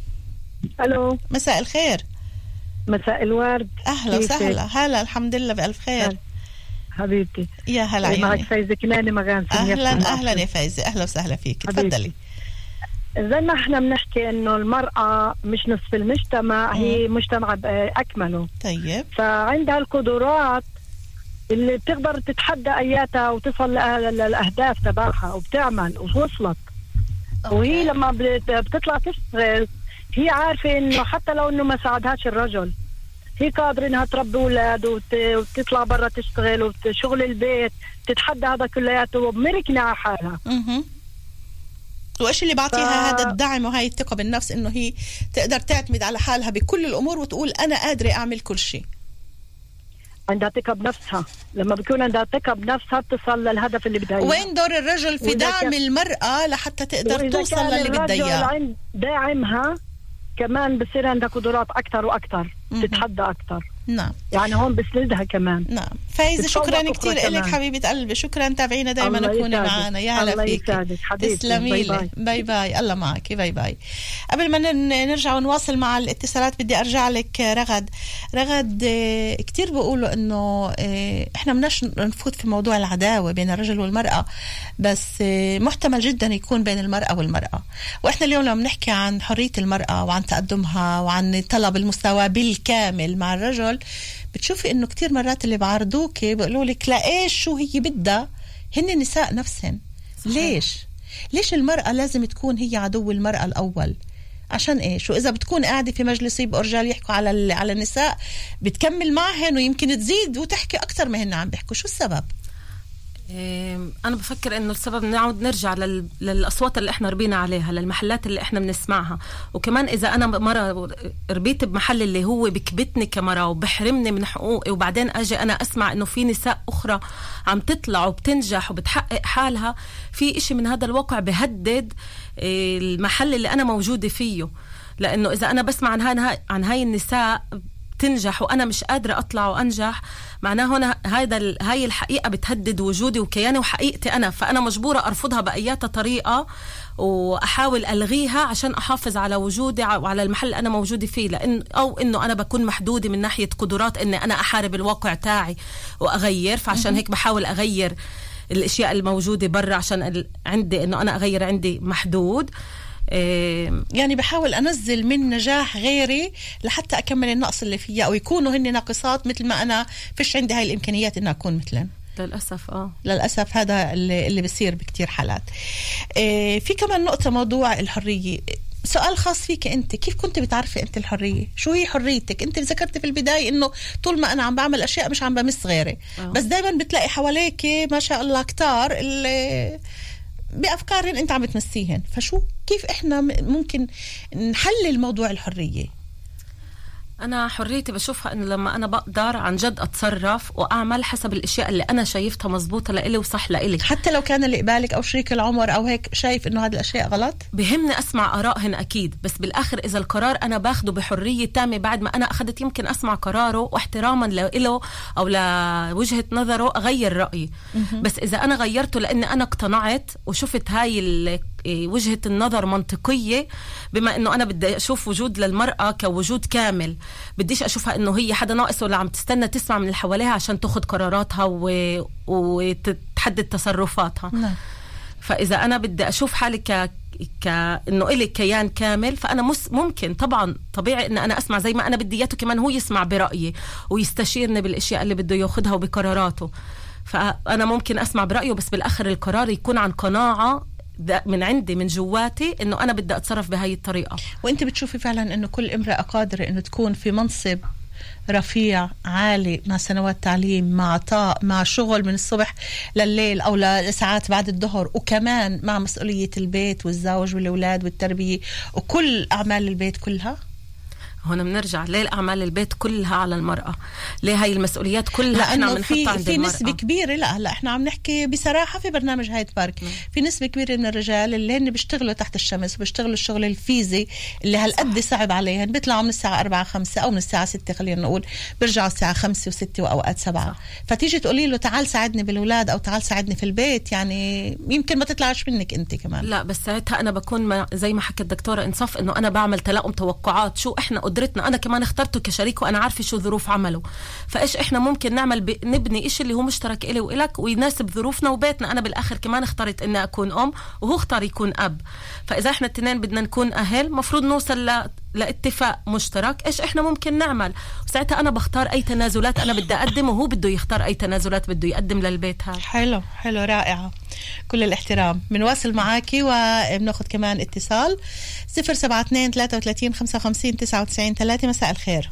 ألو مساء الخير. مساء الورد. أهلا وسهلا. هلا الحمد لله بألف خير. هل. حبيبتي يا هلا عيوني. معك فايزة كناني مغانسي. أهلا أهلا يا فايزة، أهلا وسهلا فيك، تفضلي. زي ما احنا بنحكي انه المرأة مش نصف المجتمع، مم. هي مجتمع بأكمله. طيب. فعندها القدرات اللي بتقدر تتحدى اياتها وتصل للأهداف تبعها وبتعمل ووصلت. أوكي. وهي لما بتطلع تشتغل هي عارفة انه حتى لو انه ما ساعدهاش الرجل هي قادرة انها تربي اولاد وت... وتطلع برا تشتغل وشغل البيت تتحدى هذا كلياته ومركنة على حالها. اها. وإيش اللي بعطيها ف... هذا الدعم وهاي الثقة بالنفس إنه هي تقدر تعتمد على حالها بكل الأمور وتقول أنا قادرة أعمل كل شيء. عندها ثقة بنفسها، لما بيكون عندها ثقة بنفسها بتصل للهدف اللي بدها. وين دور الرجل في دعم كان... المرأة لحتى تقدر توصل للي بدها إياه؟ عند داعمها كمان بصير عندها قدرات أكتر وأكتر، تتحدى أكتر. نعم. يعني هون بسندها كمان. نام. فايزة شكرا كتير لك حبيبة قلبي، شكرا، تابعينا دايما نكوني معنا. يا هلا فيك، تسلمي لي. باي باي، الله معك، باي باي. قبل ما نرجع ونواصل مع الاتصالات بدي أرجع لك رغد. رغد كتير بيقولوا إنه إحنا مناش نفوت في موضوع العداوة بين الرجل والمرأة، بس محتمل جدا يكون بين المرأة والمرأة. وإحنا اليوم لما بنحكي عن حرية المرأة وعن تقدمها وعن طلب المستوى بالكامل مع الرجل، بتشوفي انه كتير مرات اللي بعرضوك بيقولوا لك لا ايش شو هي بدها هن النساء نفسهن. ليش ليش المرأة لازم تكون هي عدو المرأة الأول؟ عشان ايش؟ وإذا بتكون قاعدة في مجلس يبقوا رجال يحكوا على على النساء بتكمل معهن ويمكن تزيد وتحكي أكتر ما هن عم بيحكوا. شو السبب؟ أنا بفكر إنه السبب نعود نرجع لل... للأصوات اللي إحنا ربينا عليها، للمحلات اللي إحنا بنسمعها. وكمان إذا أنا مرة ربيت بمحل اللي هو بكبتني كمرة وبحرمني من حقوقي، وبعدين أجي أنا أسمع إنه في نساء أخرى عم تطلع وبتنجح وبتحقق حالها، في إشي من هذا الواقع بهدد المحل اللي أنا موجودة فيه. لأنه إذا أنا بسمع عن هاي عن هاي النساء تنجح وأنا مش قادرة أطلع وأنجح، معناه هنا هذا هاي الحقيقة بتهدد وجودي وكياني وحقيقتي أنا، فأنا مجبورة أرفضها بأي طريقة وأحاول ألغيها عشان أحافظ على وجودي وعلى المحل اللي أنا موجودة فيه. لأن أو إنه أنا بكون محدودة من ناحية قدرات إني أنا أحارب الواقع تاعي وأغير، فعشان هيك بحاول أغير الأشياء الموجودة برا عشان عندي إنه أنا أغير، عندي محدود. يعني بحاول أنزل من نجاح غيري لحتى أكمل النقص اللي فيها، أو يكونوا هن ناقصات مثل ما أنا فيش عندي هاي الإمكانيات إن أكون مثلن. للأسف آه للأسف هذا اللي, اللي بيصير بكتير حالات. إيه في كمان نقطة، موضوع الحرية. سؤال خاص فيك أنت، كيف كنت بتعرفي أنت الحرية؟ شو هي حريتك؟ أنت ذكرت في البداية إنه طول ما أنا عم بعمل أشياء مش عم بمس غيري. أوه. بس دايما بتلاقي حواليك ما شاء الله كتار اللي بأفكار أنت عم تمسيهن. فشو كيف إحنا ممكن نحلل موضوع الحرية؟ أنا حريتي بشوفها إنه لما أنا بقدر عن جد أتصرف وأعمل حسب الأشياء اللي أنا شايفتها مزبوطة لإلي وصح لإلي، حتى لو كان اللي قبالك أو شريك العمر أو هيك شايف إنه هذه الأشياء غلط. بهمني أسمع آرائهن أكيد، بس بالآخر إذا القرار أنا باخده بحرية تامة بعد ما أنا أخذت يمكن أسمع قراره واحتراما له أو لوجهة نظره أغير رأيي. بس إذا أنا غيرته لأني أنا اقتنعت وشفت هاي وجهة النظر منطقية، بما إنه أنا بدي أشوف وجود للمرأة كوجود كامل، بديش أشوفها إنه هي حدا ناقص ولا عم تستنى تسمع من اللي حواليها عشان تأخذ قراراتها و... وتحدد تصرفاتها. نعم. فإذا أنا بدي أشوف حالي ك... ك... إنه إلي كيان كامل، فأنا مس... ممكن طبعا طبيعي إن أنا أسمع زي ما أنا بدي إياته كمان هو يسمع برأيي ويستشيرني بالأشياء اللي بده يأخذها وبقراراته. فأنا ممكن أسمع برأيه، بس بالآخر القرار يكون عن قناعة من عندي من جواتي إنه أنا بدي أتصرف بهاي الطريقة. وأنت بتشوفي فعلا إنه كل امرأة قادرة إنه تكون في منصب رفيع عالي مع سنوات تعليم، مع عطاء، مع شغل من الصبح لليل أو لساعات بعد الظهر، وكمان مع مسؤولية البيت والزوج والأولاد والتربية وكل أعمال البيت كلها؟ هنا بنرجع ليه الأعمال البيت كلها على المرأة؟ ليه هاي المسؤوليات كلها احنا عم نحطها عند في المرأة؟ نسبة كبيرة، لا هلا احنا عم نحكي بصراحة في برنامج هايد بارك، م. في نسبة كبيرة من الرجال اللي هن بيشتغلوا تحت الشمس وبيشتغلوا الشغل الفيزي اللي هالقد صعب عليهن، بيطلعوا من الساعة أربعة خمسة أو من الساعة ستة خلينا نقول، بيرجعوا الساعة خمسة وستة وأوقات سبعة. صح. فتيجي تقولي له تعال ساعدني بالأولاد أو تعال ساعدني في البيت، يعني يمكن ما تطلعش منك أنت كمان. لا بس ساعتها أنا بكون ما زي ما حكت الدكتورة إنصاف إنه أنا بعمل تلاؤم توقعات، شو إحنا قدرتنا، أنا كمان اخترته كشريك وأنا عارفة شو ظروف عمله، فإيش إحنا ممكن نعمل ب... نبني إيش اللي هو مشترك إلي وإلك ويناسب ظروفنا وبيتنا. أنا بالآخر كمان اخترت إني أكون أم وهو اختار يكون أب، فإذا إحنا التنين بدنا نكون أهل مفروض نوصل ل... لاتفاق مشترك إيش إحنا ممكن نعمل، وساعتها أنا بختار أي تنازلات أنا بدي أقدم وهو بده يختار أي تنازلات بده يقدم للبيت هذا. حلو حلو رائعة، كل الاحترام. بنواصل معاكي وبناخد كمان اتصال صفر سبعة اثنين ثلاثة وثلاثين خمسة وخمسين تسعة وتسعين ثلاثة. مساء الخير.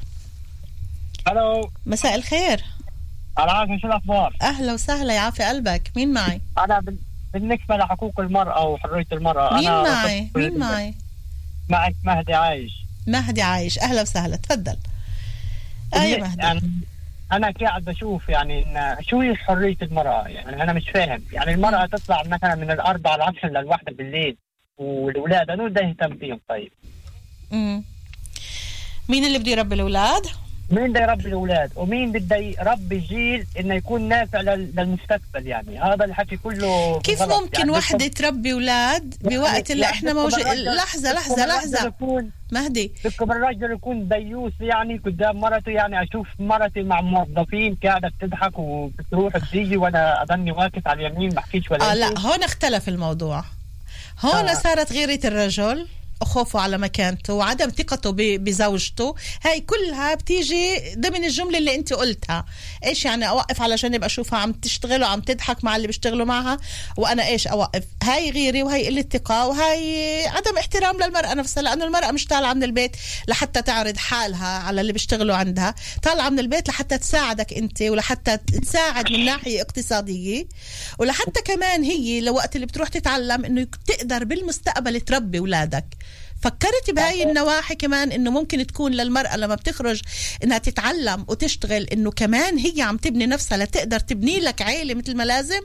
الو مساء الخير. العافية، شو الأخبار؟ أهلا وسهلا، يعافي قلبك. مين معي؟ أنا بالنسبة لحقوق المرأة وحرية المرأة مين أنا معي؟ مين معي؟ معك مهدي عايش. مهدي عايش، أهلا وسهلا، تفضل. أي مهدي. يعني أنا قاعد بشوف يعني إن شو هي حرية المرأة، يعني أنا مش فاهم، يعني المرأة تطلع مثلا من الأربعة العشر للواحدة بالليل والأولاد أنو ده يهتم فيهم؟ طيب امم مين اللي بده يربي الأولاد؟ مين بده يربي الأولاد ومين بده يربي جيل إنه يكون نافع للمستقبل؟ يعني هذا الحكي كله كيف ممكن يعني وحدة تربي أولاد بوقت اللي يعني إحنا موجود؟ لحظة لحظة لحظة مهدي، بدكم الرجل يكون ديوس يعني قدام مرته؟ يعني أشوف مرتي مع موظفين قاعدة بتضحك وبتروح بتيجي وأنا أضلني واقف على اليمين ما أحكيش ولا آه لا، هون اختلف الموضوع. هون آه. صارت غيرة الرجل خوفه على مكانته وعدم ثقته بزوجته، هاي كلها بتيجي ضمن الجملة اللي انت قلتها. ايش يعني اوقف على جنب اشوفها عم تشتغل وعم تضحك مع اللي بيشتغلوا معها وانا ايش اوقف؟ هاي غيرة وهي قلة ثقة وهي عدم احترام للمرأة نفسها، لانه المرأة مش طالعة من البيت لحتى تعرض حالها على اللي بيشتغلوا عندها، طالعة من البيت لحتى تساعدك انت ولحتى تساعد من ناحية اقتصادية، ولحتى كمان هي لوقت اللي بتروح تتعلم انه تقدر بالمستقبل تربي اولادك. فكرت بهاي النواحي كمان انه ممكن تكون للمرأة لما بتخرج انها تتعلم وتشتغل انه كمان هي عم تبني نفسها لتقدر تبني لك عائلة مثل ما لازم؟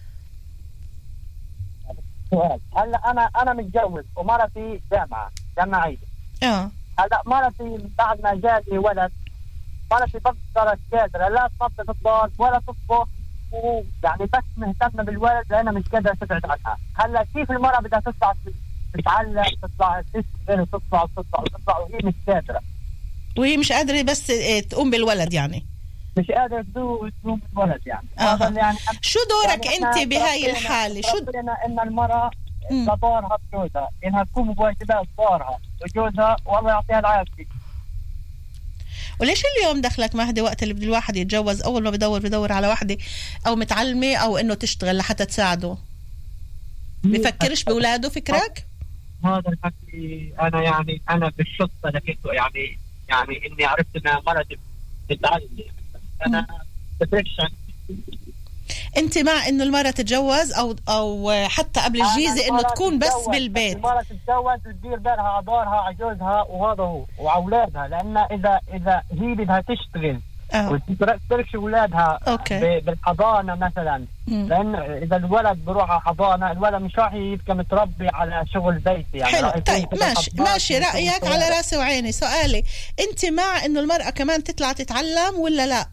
هلا انا انا متجوز ومرتي جامعة جامعية. اه هلا مرتي بعد ما جاني ولد مرتي بقدر قادرة لا تنظف الدار ولا تطبخ، ويعني بس مهتمة بالولد لأنها مش قادرة تبعد عنها. هلا كيف المرأة بدها تطلع تتعلم تطلع تشتغل تطلع تطلع تطلع وهي مش قادرة، وهي مش قادرة بس تقوم بالولد، يعني مش قادرة تقوم بالولد يعني. آه. يعني شو دورك يعني انت بهاي الحالة؟ شو ان المرأة لدورها بجوزها انها تقوم بواجبات دورها وجوزها والله يعطيها العافية. وليش اليوم دخلك مهدي وقت اللي بده الواحد يتجوز اول ما بدور بدور على واحدة او متعلمة او انه تشتغل لحتى تساعده؟ بفكرش بأولاده فكرك؟ هذا الحكي أنا يعني أنا بالصدفة لقيته، يعني يعني إني عرفت إن مرتي بتتعلم، أنا ديبريشن. انت مع انه المرأة تتجوز او او حتى قبل الجيزة انه تكون بس بالبيت؟ المرأة تتجوز وتدير بالها على دارها على جوزها وهذا هو واولادها، لان اذا اذا هي بدها تشتغل وتترك اولادها بالحضانة مثلا، مم. لان اذا الولد بروح على حضانة الولد مش راح يبقى متربي على شغل بيتي يعني. حلو. طيب ماشي ماشي رأيك على راسي وعيني. سؤالي، انت مع انه المرأة كمان تطلع تتعلم ولا لا؟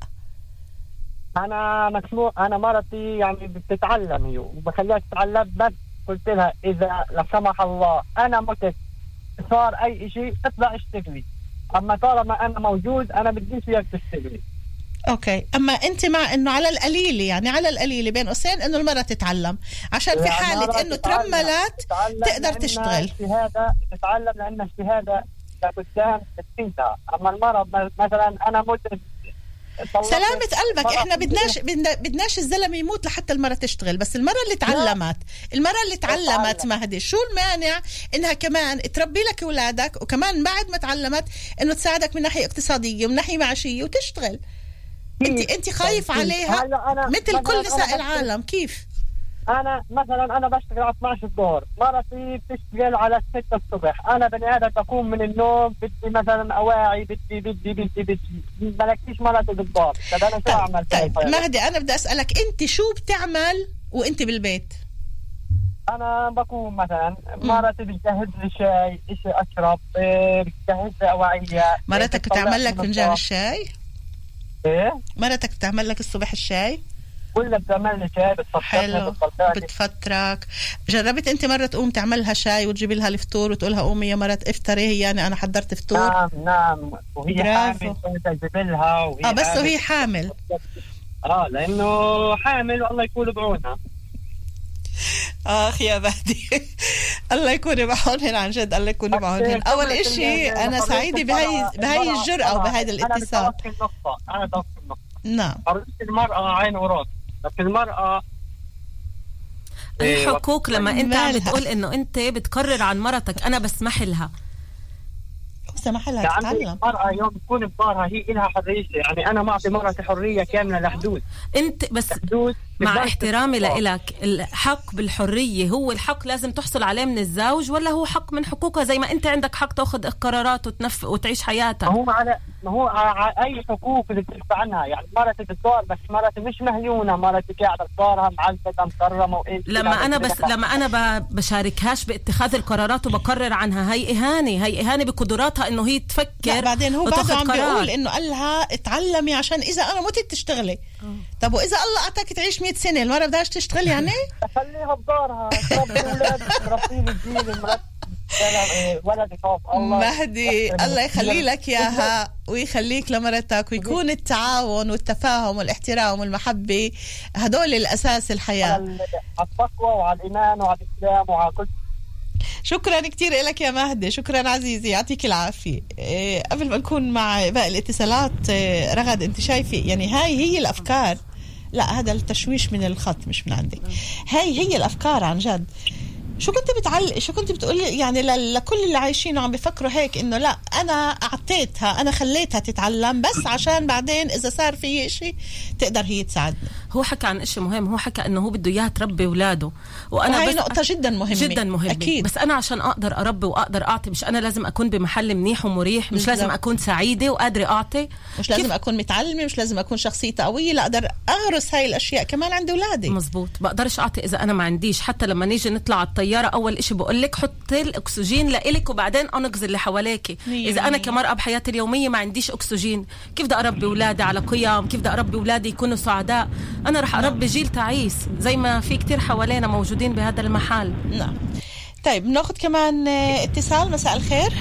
انا مسموح، انا مرتي يعني بتتعلم هي وبخليها تتعلم، بس قلت لها اذا لا سمح الله انا متت صار اي شيء اطلع اشتغلي، اما طالما انا موجود انا بديش اياك تشتغلي. اوكي. اما انت مع انه على القليل يعني على القليل بين قوسين انه المرأة تتعلم عشان في حالة انه ترملت تقدر تشتغل؟ الشهادة تتعلم لان الشهادة لقدام تفيدها، اما المرأة مثلا انا مت سلامة قلبك، احنا بدناش بدناش الزلمة يموت لحتى المرأة تشتغل، بس المرأة اللي تعلمت المرأة اللي تعلمت مهدي شو المانع انها كمان تربي لك اولادك وكمان بعد ما تعلمت انه تساعدك من ناحية اقتصادية ومن ناحية معيشية وتشتغل؟ انت انت خايف عليها مثل كل نساء العالم. كيف؟ انا مثلا انا بشتغل على اثناشر الظهر، مرتي بتشتغل على ستة الصبح، انا بني ادم بقوم من النوم بدي مثلا اواعي بدي بدي بدي بدي مالكيش مرتي بالضبط. طب انا شو اعمل؟ طيب مهدي انا بدي اسالك انت شو بتعمل وانت بالبيت؟ انا بقوم مثلا مرتي بتجهز لي شاي، شيء اشرب، بتجهز لي اواعية. مرتك بتعمل لك فنجان الشاي؟ ايه مرتك بتعمل لك الصبح الشاي؟ ولا بتعمل لي شاي بتفطرني بتفطرك؟ جربت انت مره تقوم تعملها شاي وتجيب لها الفطور وتقولها قومي يا مرة افطري هي يعني انا حضرت فطور؟ نعم نعم وهي برافو. حامل تجيب لها وهي اه بس وهي حامل؟ اه لانه حامل والله يكون بعونها. اخ يا مهدي الله يكون بعونهن عن جد، الله يكون بعونهن. اول اشي انا سعيدة بهاي بهاي الجرأة وبهذا الاتصال. انا توقف النقطة انا توقف النقطة نعم. المرأة عين وراس، بس المرأة الحقوق لما انت عم بتقول انه انت بتقرر عن مرتك انا بسمح لها سمح لها تتعلم. المرأة يوم تكون بضارها هي إلها حرية، يعني أنا معطي مرتي حرية كاملة لحدود. أنت بس مع احترامي لإلك الحق بالحرية هو الحق لازم تحصل عليه من الزوج ولا هو حق من حقوقها زي ما أنت عندك حق تأخذ قرارات وتنف وتعيش حياتك؟ ما هو على ما هو على أي حقوق اللي بتدفع عنها، يعني مرتي بالدار بس مرتي مش مهيونة، مرتي قاعدة بدارها معلقة مكرمة وإيه. لما أنا بس لما أنا بشاركهاش باتخاذ القرارات وبقرر عنها هي إهانة، هي إهانة بقدراتها إنه هي تفكر. بعدين هو بعد عم بيقول إنه قال لها اتعلمي عشان إذا أنا متت تشتغلي. أوه. طب وإذا الله أعطاك تعيش مئة سنة المرة بدهاش تشتغل يعني؟ خليها بدارها تربي أولاد تربي الجيل مرت ولد يخاف الله. مهدي الله يخلي لك إياها ويخليك لمرتك ويكون التعاون والتفاهم والاحترام والمحبة هدول الأساس الحياة. على التقوى وعلى الإيمان وعلى الإسلام وعلى كل. شكرا كتير لك يا مهدي، شكرا عزيزي يعطيك العافية. إيه قبل ما نكون مع باقي الاتصالات إيه رغد انت شايفة يعني هاي هي الأفكار، لا هذا التشويش من الخط مش من عندك، هاي هي الأفكار عن جد. شو كنت بتعلق شو كنت بتقولي يعني لكل اللي عايشين وعم بيفكروا هيك انه لا انا اعطيتها انا خليتها تتعلم بس عشان بعدين اذا صار في شيء تقدر هي تساعدنا. هو حكى عن شيء مهم، هو حكى انه هو بده اياها تربي اولاده وانا وهي نقطة جدا مهمة جدا مهمة أكيد. بس انا عشان اقدر اربي واقدر اعطي مش انا لازم اكون بمحل منيح ومريح، مش لازم اكون سعيدة وقادرة اعطي، مش لازم اكون متعلمة، مش لازم اكون شخصيتي قوية، لا اقدر اغرس هاي الاشياء كمان عند اولادي. مزبوط. بقدرش اعطي اذا انا ما عنديش. حتى لما نيجي نطلع على الطيارة اول اشي بقول لك حطي الاكسجين لإلك وبعدين انقذ اللي حواليك. اذا انا كمرأة بحياتي اليومية ما عنديش اكسجين كيف بدي اربي اولادي على قيم؟ كيف بدي اربي اولادي يكونوا سعداء؟ انا رح اربي جيل تعيس زي ما في كتير حوالينا موجودين بهذا المحل. نعم. طيب ناخذ كمان اتصال. مساء الخير.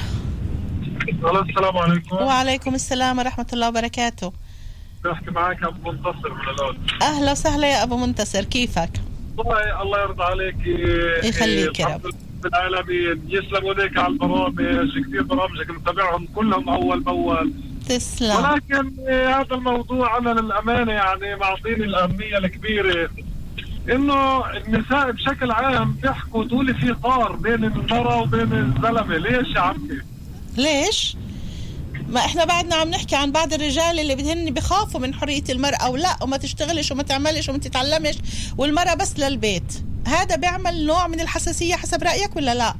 السلام عليكم. وعليكم السلام ورحمة الله وبركاته. بحكي معك أبو منتصر من الأول. أهلا وسهلا يا أبو منتصر، كيفك؟ والله الله يرضى عليك يخليك يا رب بالعالمين. يسلم وليك على البرامج، كثير برامجك متابعهم كلهم أول بأول. تسلم. ولكن هذا الموضوع أنا للأمانة يعني معطيني الأهمية الكبيرة إنه النساء بشكل عام بيحكوا تقولي في طار بين المرأة وبين الزلمة. ليش يا عمي؟ ليش؟ ما احنا بعدنا عم نحكي عن بعض الرجال اللي بدهن بخافوا من حرية المرأة ولا وما تشتغلش وما تعملش وما تتعلمش والمرأة بس للبيت. هذا بيعمل نوع من الحساسية حسب رأيك ولا لا؟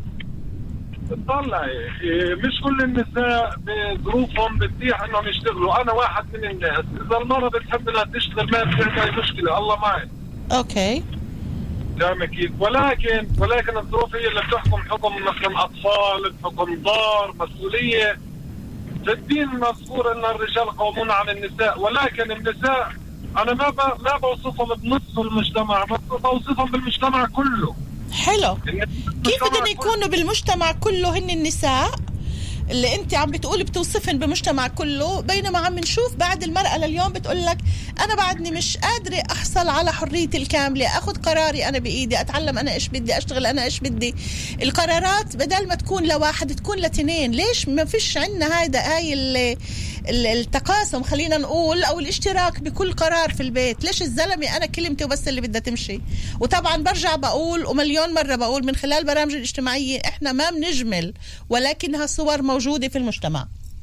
طلعي مش كل النساء بظروفهم بتتيح انهم يشتغلوا. انا واحد من الناس اذا المرأة بتحب انها تشتغل ما في اي مشكلة، الله معي. اوكي فاهم كيف؟ ولكن ولكن الظروف هي اللي بتحكم، حكم مثلا اطفال، بحكم دار، مسؤولية. في الدين مذكور ان الرجال قوامون على النساء، ولكن النساء انا ما ب... ما بوصفهم بنصف المجتمع، بوصفهم بالمجتمع كله. حلو. كيف بدهم يكونوا بالمجتمع كله هن النساء اللي انت عم بتقولي بتوصفن بمجتمع كله، بينما عم نشوف بعد المرأة لليوم بتقول لك انا بعدني مش قادرة احصل على حريتي الكاملة، اخذ قراري انا بايدي، اتعلم انا ايش بدي، اشتغل انا ايش بدي. القرارات بدل ما تكون لواحد تكون لتنين. ليش ما فيش عندنا هذا هاي التقاسم خلينا نقول او الاشتراك بكل قرار في البيت؟ ليش الزلمة انا كلمتي وبس اللي بدها تمشي؟ وطبعا برجع بقول ومليون مرة بقول من خلال برامج الاجتماعية احنا ما بنجمل، ولكنها صور موجودة في المجتمع.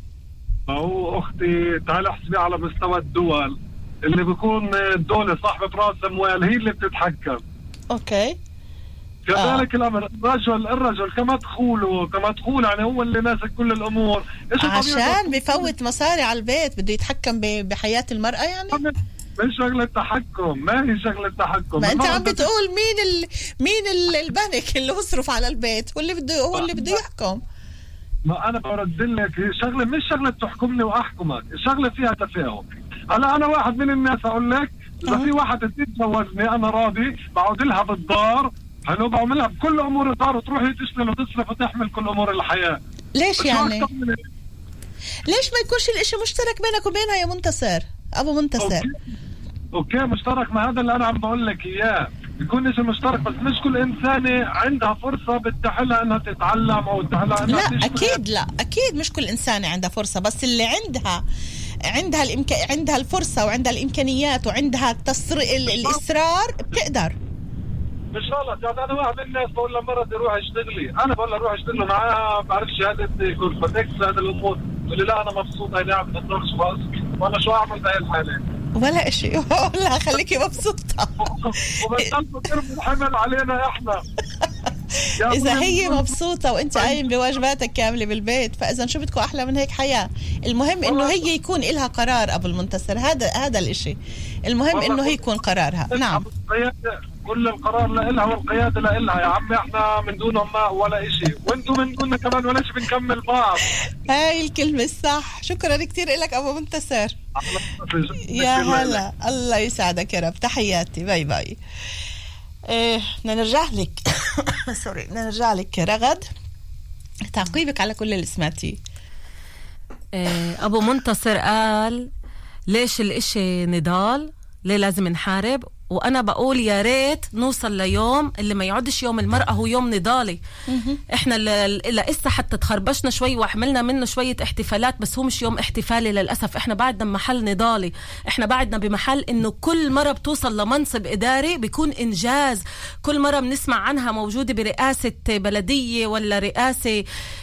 هو أختي تعال احسبي على مستوى الدول اللي بيكون الدولة صاحبة رأس أموال هي اللي بتتحكم. أوكي. كذلك آه. الأمر الرجل الرجل كمدخوله كمدخول يعني هو اللي ماسك كل الأمور. عشان بيفوت مصاري على البيت بده يتحكم بحياة المرأة يعني؟ مش شغلة تحكم، ما هي شغلة تحكم. ما انت عم بتقول مين ال... مين ال... البنك اللي بيصرف على البيت هو اللي بده هو اللي بده يحكم. ما انا برد لك شغله مش شغله تحكمني واحكمك، شغله فيها تفاهم. هلا انا واحد من الناس اقول لك اذا في واحده تتجوزني انا راضي، بقعد لها بالدار، حلو، بعملها بكل امور الدار وتروحي تشتغل وتصرف وتحمل كل امور الحياه. ليش يعني؟ ليش ما يكونش الاشي مشترك بينك وبينها يا منتصر ابو منتصر؟ اوكي, أوكي مشترك، ما هذا اللي انا عم بقول لك اياه، يكون شيء مشترك، بس مش كل إنسانة عندها فرصة بتحلها أنها تتعلم أو تتحلها أنها لا تشتغل. أكيد لا أكيد مش كل إنسانة عندها فرصة، بس اللي عندها عندها الإمك... عندها الفرصة وعندها الإمكانيات وعندها التصر... الإصرار بتقدر. مش غلط يعني. أنا واحد من الناس بقول لمرتي روح اشتغلي، أنا بقول لها روح اشتغلي معاها بعرف شهادة كورفتكس هذا الأمور، تقول لي لا أنا مبسوطة هي عم تطرقش بس، وأنا شو أعمل بهاي الحالة؟ ولا شيء والله خليكي مبسوطة. وبنطلبوا ترمي الحمل علينا احنا. إذا هي مبسوطة وأنت قايم بواجباتك كاملة بالبيت، فإذا شو بدكم أحلى من هيك حياة؟ المهم إنه هي يكون إلها قرار أبو المنتصر، هذا هذا الإشي المهم إنه هي يكون قرارها. نعم. كل القرار لإلها والقيادة لإلها يا عمي، احنا من دونهم ما ولا إشي، وانتم من دوننا كمان ولا شيء، بنكمل بعض. هاي الكلمة الصح. شكرا كتير لك أبو منتصر. يا هلا، الله يسعدك يا رب. تحياتي، باي باي. ايه بدنا نرجع لك سوري بدنا نرجع لك رغد، تعقيبك على كل اللي سمعتيه. إيه أبو منتصر قال ليش الإشي نضال، ليه لازم نحارب؟ وأنا بقول يا ريت نوصل ليوم اللي ما يعودش يوم المرأة هو يوم نضالي. إحنا لسه حتى تخربشنا شوي وحملنا منه شوية احتفالات، بس هو مش يوم احتفالي للأسف. إحنا بعدنا بمحل نضالي، إحنا بعدنا بمحل إنه كل مرة بتوصل لمنصب إداري بيكون إنجاز. كل مرة بنسمع عنها موجودة برئاسة بلدية ولا رئاسة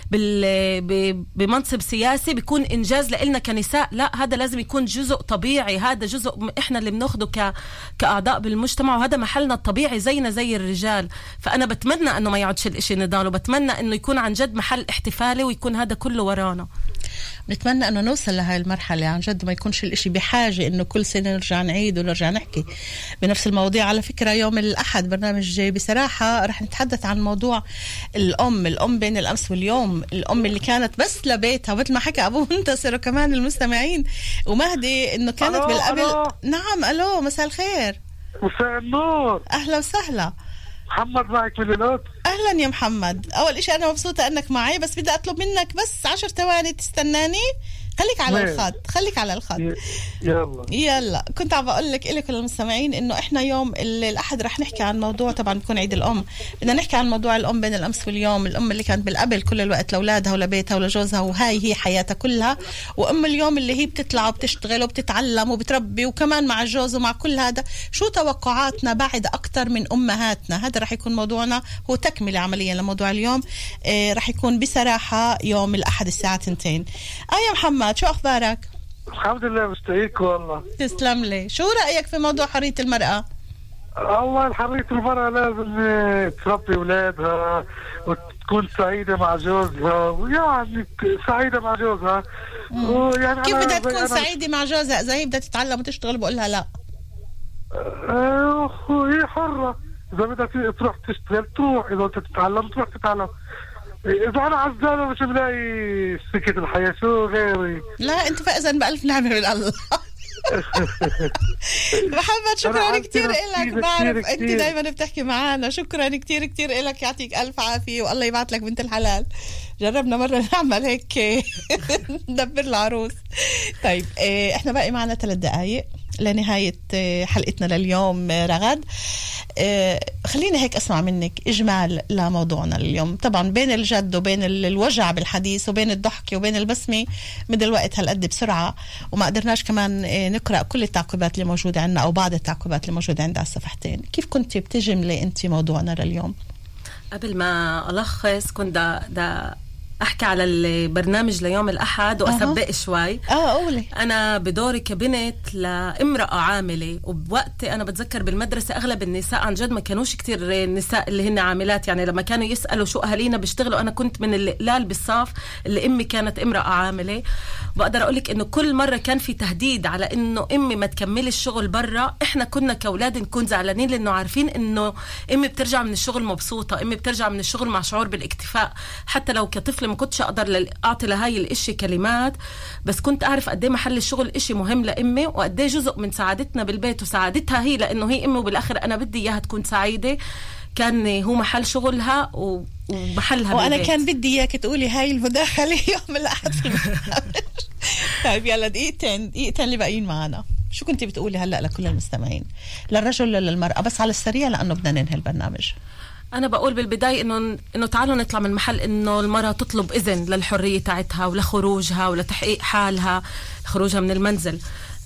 بمنصب سياسي بيكون إنجاز لإلنا كنساء. لا، هذا لازم يكون جزء طبيعي، هذا جزء إحنا اللي بناخده ك... كأعضاء بالمجتمع، وهذا محلنا الطبيعي زينا زي الرجال. فأنا بتمنى أنه ما يعودش الإشي نضال، وبتمنى أنه يكون عن جد محل احتفالي ويكون هذا كله ورانا. نتمنى أنه نوصل لهاي المرحلة عن جد، ما يكونش الإشي بحاجة أنه كل سنة نرجع نعيد ونرجع نحكي بنفس المواضيع. على فكرة يوم الأحد برنامج بصراحة رح نتحدث عن موضوع الأم الأم بين الأمس واليوم، الأم اللي كانت بس لبيتها، مثل ما حكى أبو منتصر وكمان المستمعين ومهدي إنه كانت ألو بالقبل. ألو. نعم ألو، مساء الخير. مساء النور. أهلا وسهلا. محمد معك من الوقت. أهلا يا محمد. أول إشي أنا مبسوطة أنك معي، بس بدي أطلب منك بس عشر ثواني تستناني. خليك على مين. الخط خليك على الخط. يلا يلا. كنت عم بقول لك إلك المستمعين إنه إحنا يوم الأحد رح نحكي عن موضوع، طبعا بكون عيد الأم، بدنا نحكي عن موضوع الأم بين الأمس واليوم، الأم اللي كانت بالقبل كل الوقت لأولادها ولبيتها ولجوزها وهاي هي حياتها كلها، وأم اليوم اللي هي بتطلع وبتشتغل وبتتعلم وبتربي وكمان مع الجوز ومع كل هذا. شو توقعاتنا بعد أكتر من أمهاتنا؟ هذا رح يكون موضوعنا، هو تك تكملة عمليا لموضوع اليوم آه رح يكون بصراحة يوم الأحد الساعة تنتين. آه يا محمد شو أخبارك؟ الحمد لله مستعيك والله. تسلم لي. شو رأيك في موضوع حرية المرأة؟ الله حرية المرأة لازم تربي أولادها وتكون سعيدة مع جوزها ويعني سعيدة مع جوزها. ويعني كيف بدها تكون سعيدة مع جوزها إذا هي بدها تتعلم وتشتغل بقولها لا؟ هي حرة، إذا بدها تروح تشتغل تروح، إذا بدها تتعلم تروح تتعلم. إذا أنا عزالة مش بلاقي سكة الحياة شو غيري. لا أنت فائزا بألف نعمة من الله. محمد شكرا كتير إلك. بعرف أنت دايما بتحكي معانا. شكرا كتير كتير إلك. يعطيك ألف عافية والله يبعث لك بنت الحلال. جربنا مرة نعمل هيك ندبر العروس. طيب إحنا باقي معنا ثلاث دقايق لنهاية حلقتنا لليوم. رغد خليني هيك أسمع منك إجمال لموضوعنا اليوم. طبعا بين الجد وبين الوجع بالحديث وبين الضحك وبين البسمة من الوقت هالقد بسرعة وما قدرناش كمان نقرأ كل التعقيبات اللي موجودة عندنا أو بعض التعقيبات اللي موجودة عندنا على الصفحتين. كيف كنت بتجملي أنت موضوعنا لليوم؟ قبل ما ألخص كنت دا, دا أحكي على البرنامج ليوم الأحد وأسبق شوي. آه قولي. أنا بدوري كبنت لامرأة عاملة، وبوقت أنا بتذكر بالمدرسة أغلب النساء عن جد ما كانوش كتير النساء اللي هن عاملات، يعني لما كانوا يسألوا شو أهالينا بيشتغلوا أنا كنت من القلال بالصاف اللي أمي كانت امرأة عاملة. بقدر أقولك إنه كل مرة كان في تهديد على إنه أمي ما تكمل الشغل برا. إحنا كنا كأولاد نكون زعلانين لأنه عارفين إنه أمي بترجع من الشغل مبسوطة، أمي بترجع من الشغل مع شعور بالاكتفاء. حتى لو كطفل ما كنتش أقدر أعطي لهاي الإشي كلمات، بس كنت أعرف قديه محل الشغل إشي مهم لأمي وقديه جزء من سعادتنا بالبيت وسعادتها هي، لأنه هي أمي وبالآخر أنا بدي إياها تكون سعيدة. كان هو محل شغلها ومحلها وأنا بالبيت. كان بدي إياك تقولي هاي المداخلة يوم الأحد في البرنامج. طيب يلا دقيقتين دقيقتين اللي باقيين معنا. شو كنتي بتقولي هلأ لكل المستمعين، للرجل للمرأة، بس على السريع لأنه بدنا ننهي البرنامج؟ أنا بقول بالبداية إنه إنه تعالوا نطلع من محل إنه المرأة تطلب إذن للحرية تاعتها ولخروجها ولتحقيق حالها، خروجها من المنزل.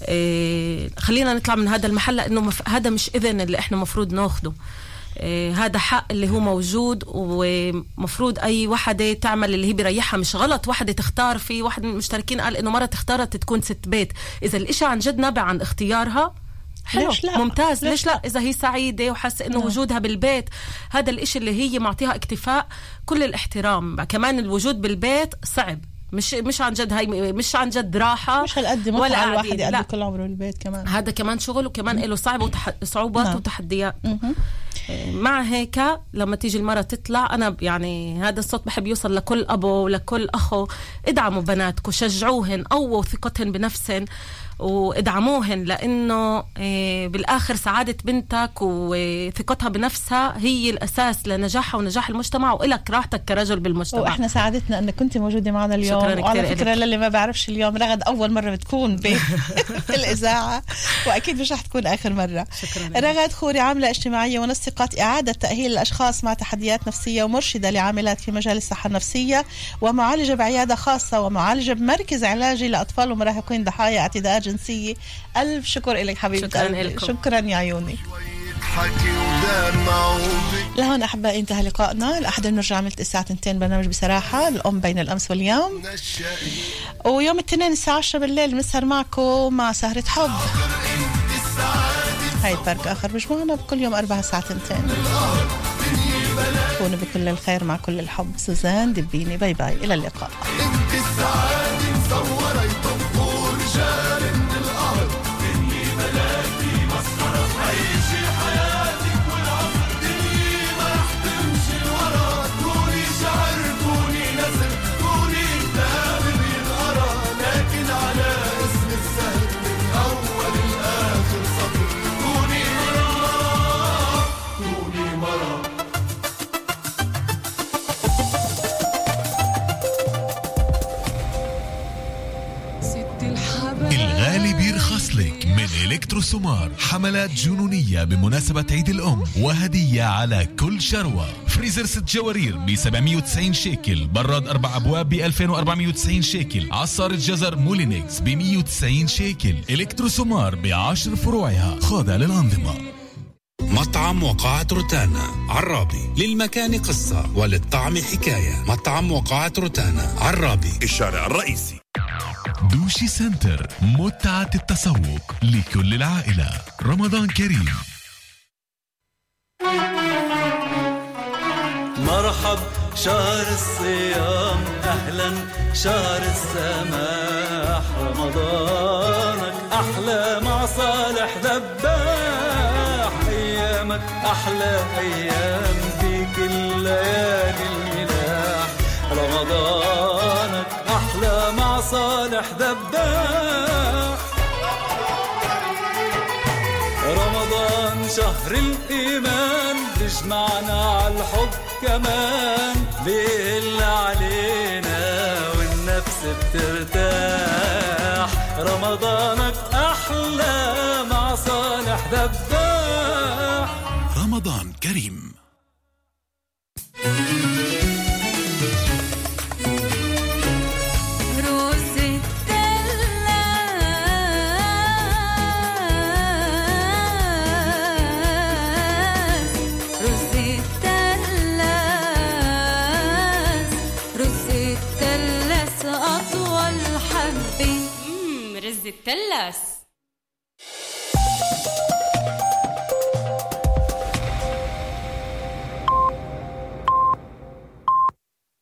إيه خلينا نطلع من هذا المحل، لأنه مف... هذا مش إذن اللي إحنا مفروض ناخده. إيه هذا حق اللي هو موجود، ومفروض أي وحدة تعمل اللي هي بريحها. مش غلط وحدة تختار. في واحد من المشتركين قال إنه مرة اختارت تكون ست بيت. إذا الإشي عن جد نابع عن اختيارها حلو لا. ممتاز. ليش لا؟ إذا هي سعيدة وحاسة إنه لا. وجودها بالبيت هذا الإشي اللي هي معطيها اكتفاء، كل الاحترام. كمان الوجود بالبيت صعب، مش مش عن جد هاي مش عن جد راحة، مش هالقد ولا الواحد يقضي كل عمره بالبيت. كمان هذا كمان شغل وكمان له صعب وتح... صعوبات نعم. وتحديات. مع هيك لما تيجي المرة تطلع، أنا يعني هذا الصوت بحب يوصل لكل أبو ولكل أخو. ادعموا بناتكم، شجعوهن، قووا ثقتهن بنفسهن وادعموهن، لأنه بالآخر سعادة بنتك وثقتها بنفسها هي الأساس لنجاحها ونجاح المجتمع وإلك راحتك كرجل بالمجتمع. وإحنا سعادتنا أنك كنت موجودة معنا اليوم. وعلى فكرة للي ما بعرفش اليوم رغد أول مرة بتكون بالإذاعة وأكيد مش رح تكون آخر مرة. شكرا. رغد خوري عاملة اجتماعية ونسقت إعادة تأهيل الأشخاص مع تحديات نفسية ومرشدة لعاملات في مجال الصحة النفسية ومعالجة بعيادة خاصة ومعالجة بمركز علاجي لأطفال ومراهقين ضحايا اعتداءات جنسية. ألف شكر إليك حبيبتي. شكرا, شكرا يا عيوني. لهون أحبائي انتهى لقائنا. الأحد بنرجع عملت الساعة تنتين برنامج بصراحة الأم بين الأمس واليوم، ويوم الاثنين الساعة عشرة بالليل بنسهر معكم مع سهرة حب. هاي البرك آخر مجموعنا بكل يوم أربعة الساعة تنتين. كونوا بكل الخير مع كل الحب. سوزان دبيني. باي باي إلى اللقاء. من إلكتروسومار حملات جنونية بمناسبة عيد الأم وهدية على كل شروة. فريزر ست جوارير ب سبعمية وتسعين شيكل، براد أربع أبواب ب ألفين وأربعمية وتسعين شيكل، عصارة جزر مولينكس ب مية وتسعين شيكل. إلكتروسومار بعشر فروعها خاضع للأنظمة. مطعم وقاعة روتانا عرابي، للمكان قصة وللطعم حكاية. مطعم وقاعة روتانا عرابي، الشارع الرئيسي. دوشي سنتر، متعة التسوق لكل العائلة. رمضان كريم. مرحب شهر الصيام، أهلا شهر السماح، رمضانك أحلى مع صالح ذباح، أيامك أحلى أيام فيك الليالي الملاح، رمضانك أحلى مع صالح ذباح. رمضان شهر الإيمان بيجمعنا عالحب كمان، بيهل علينا والنفس بترتاح، رمضانك أحلى مع صالح ذباح. رمضان كريم. التلاس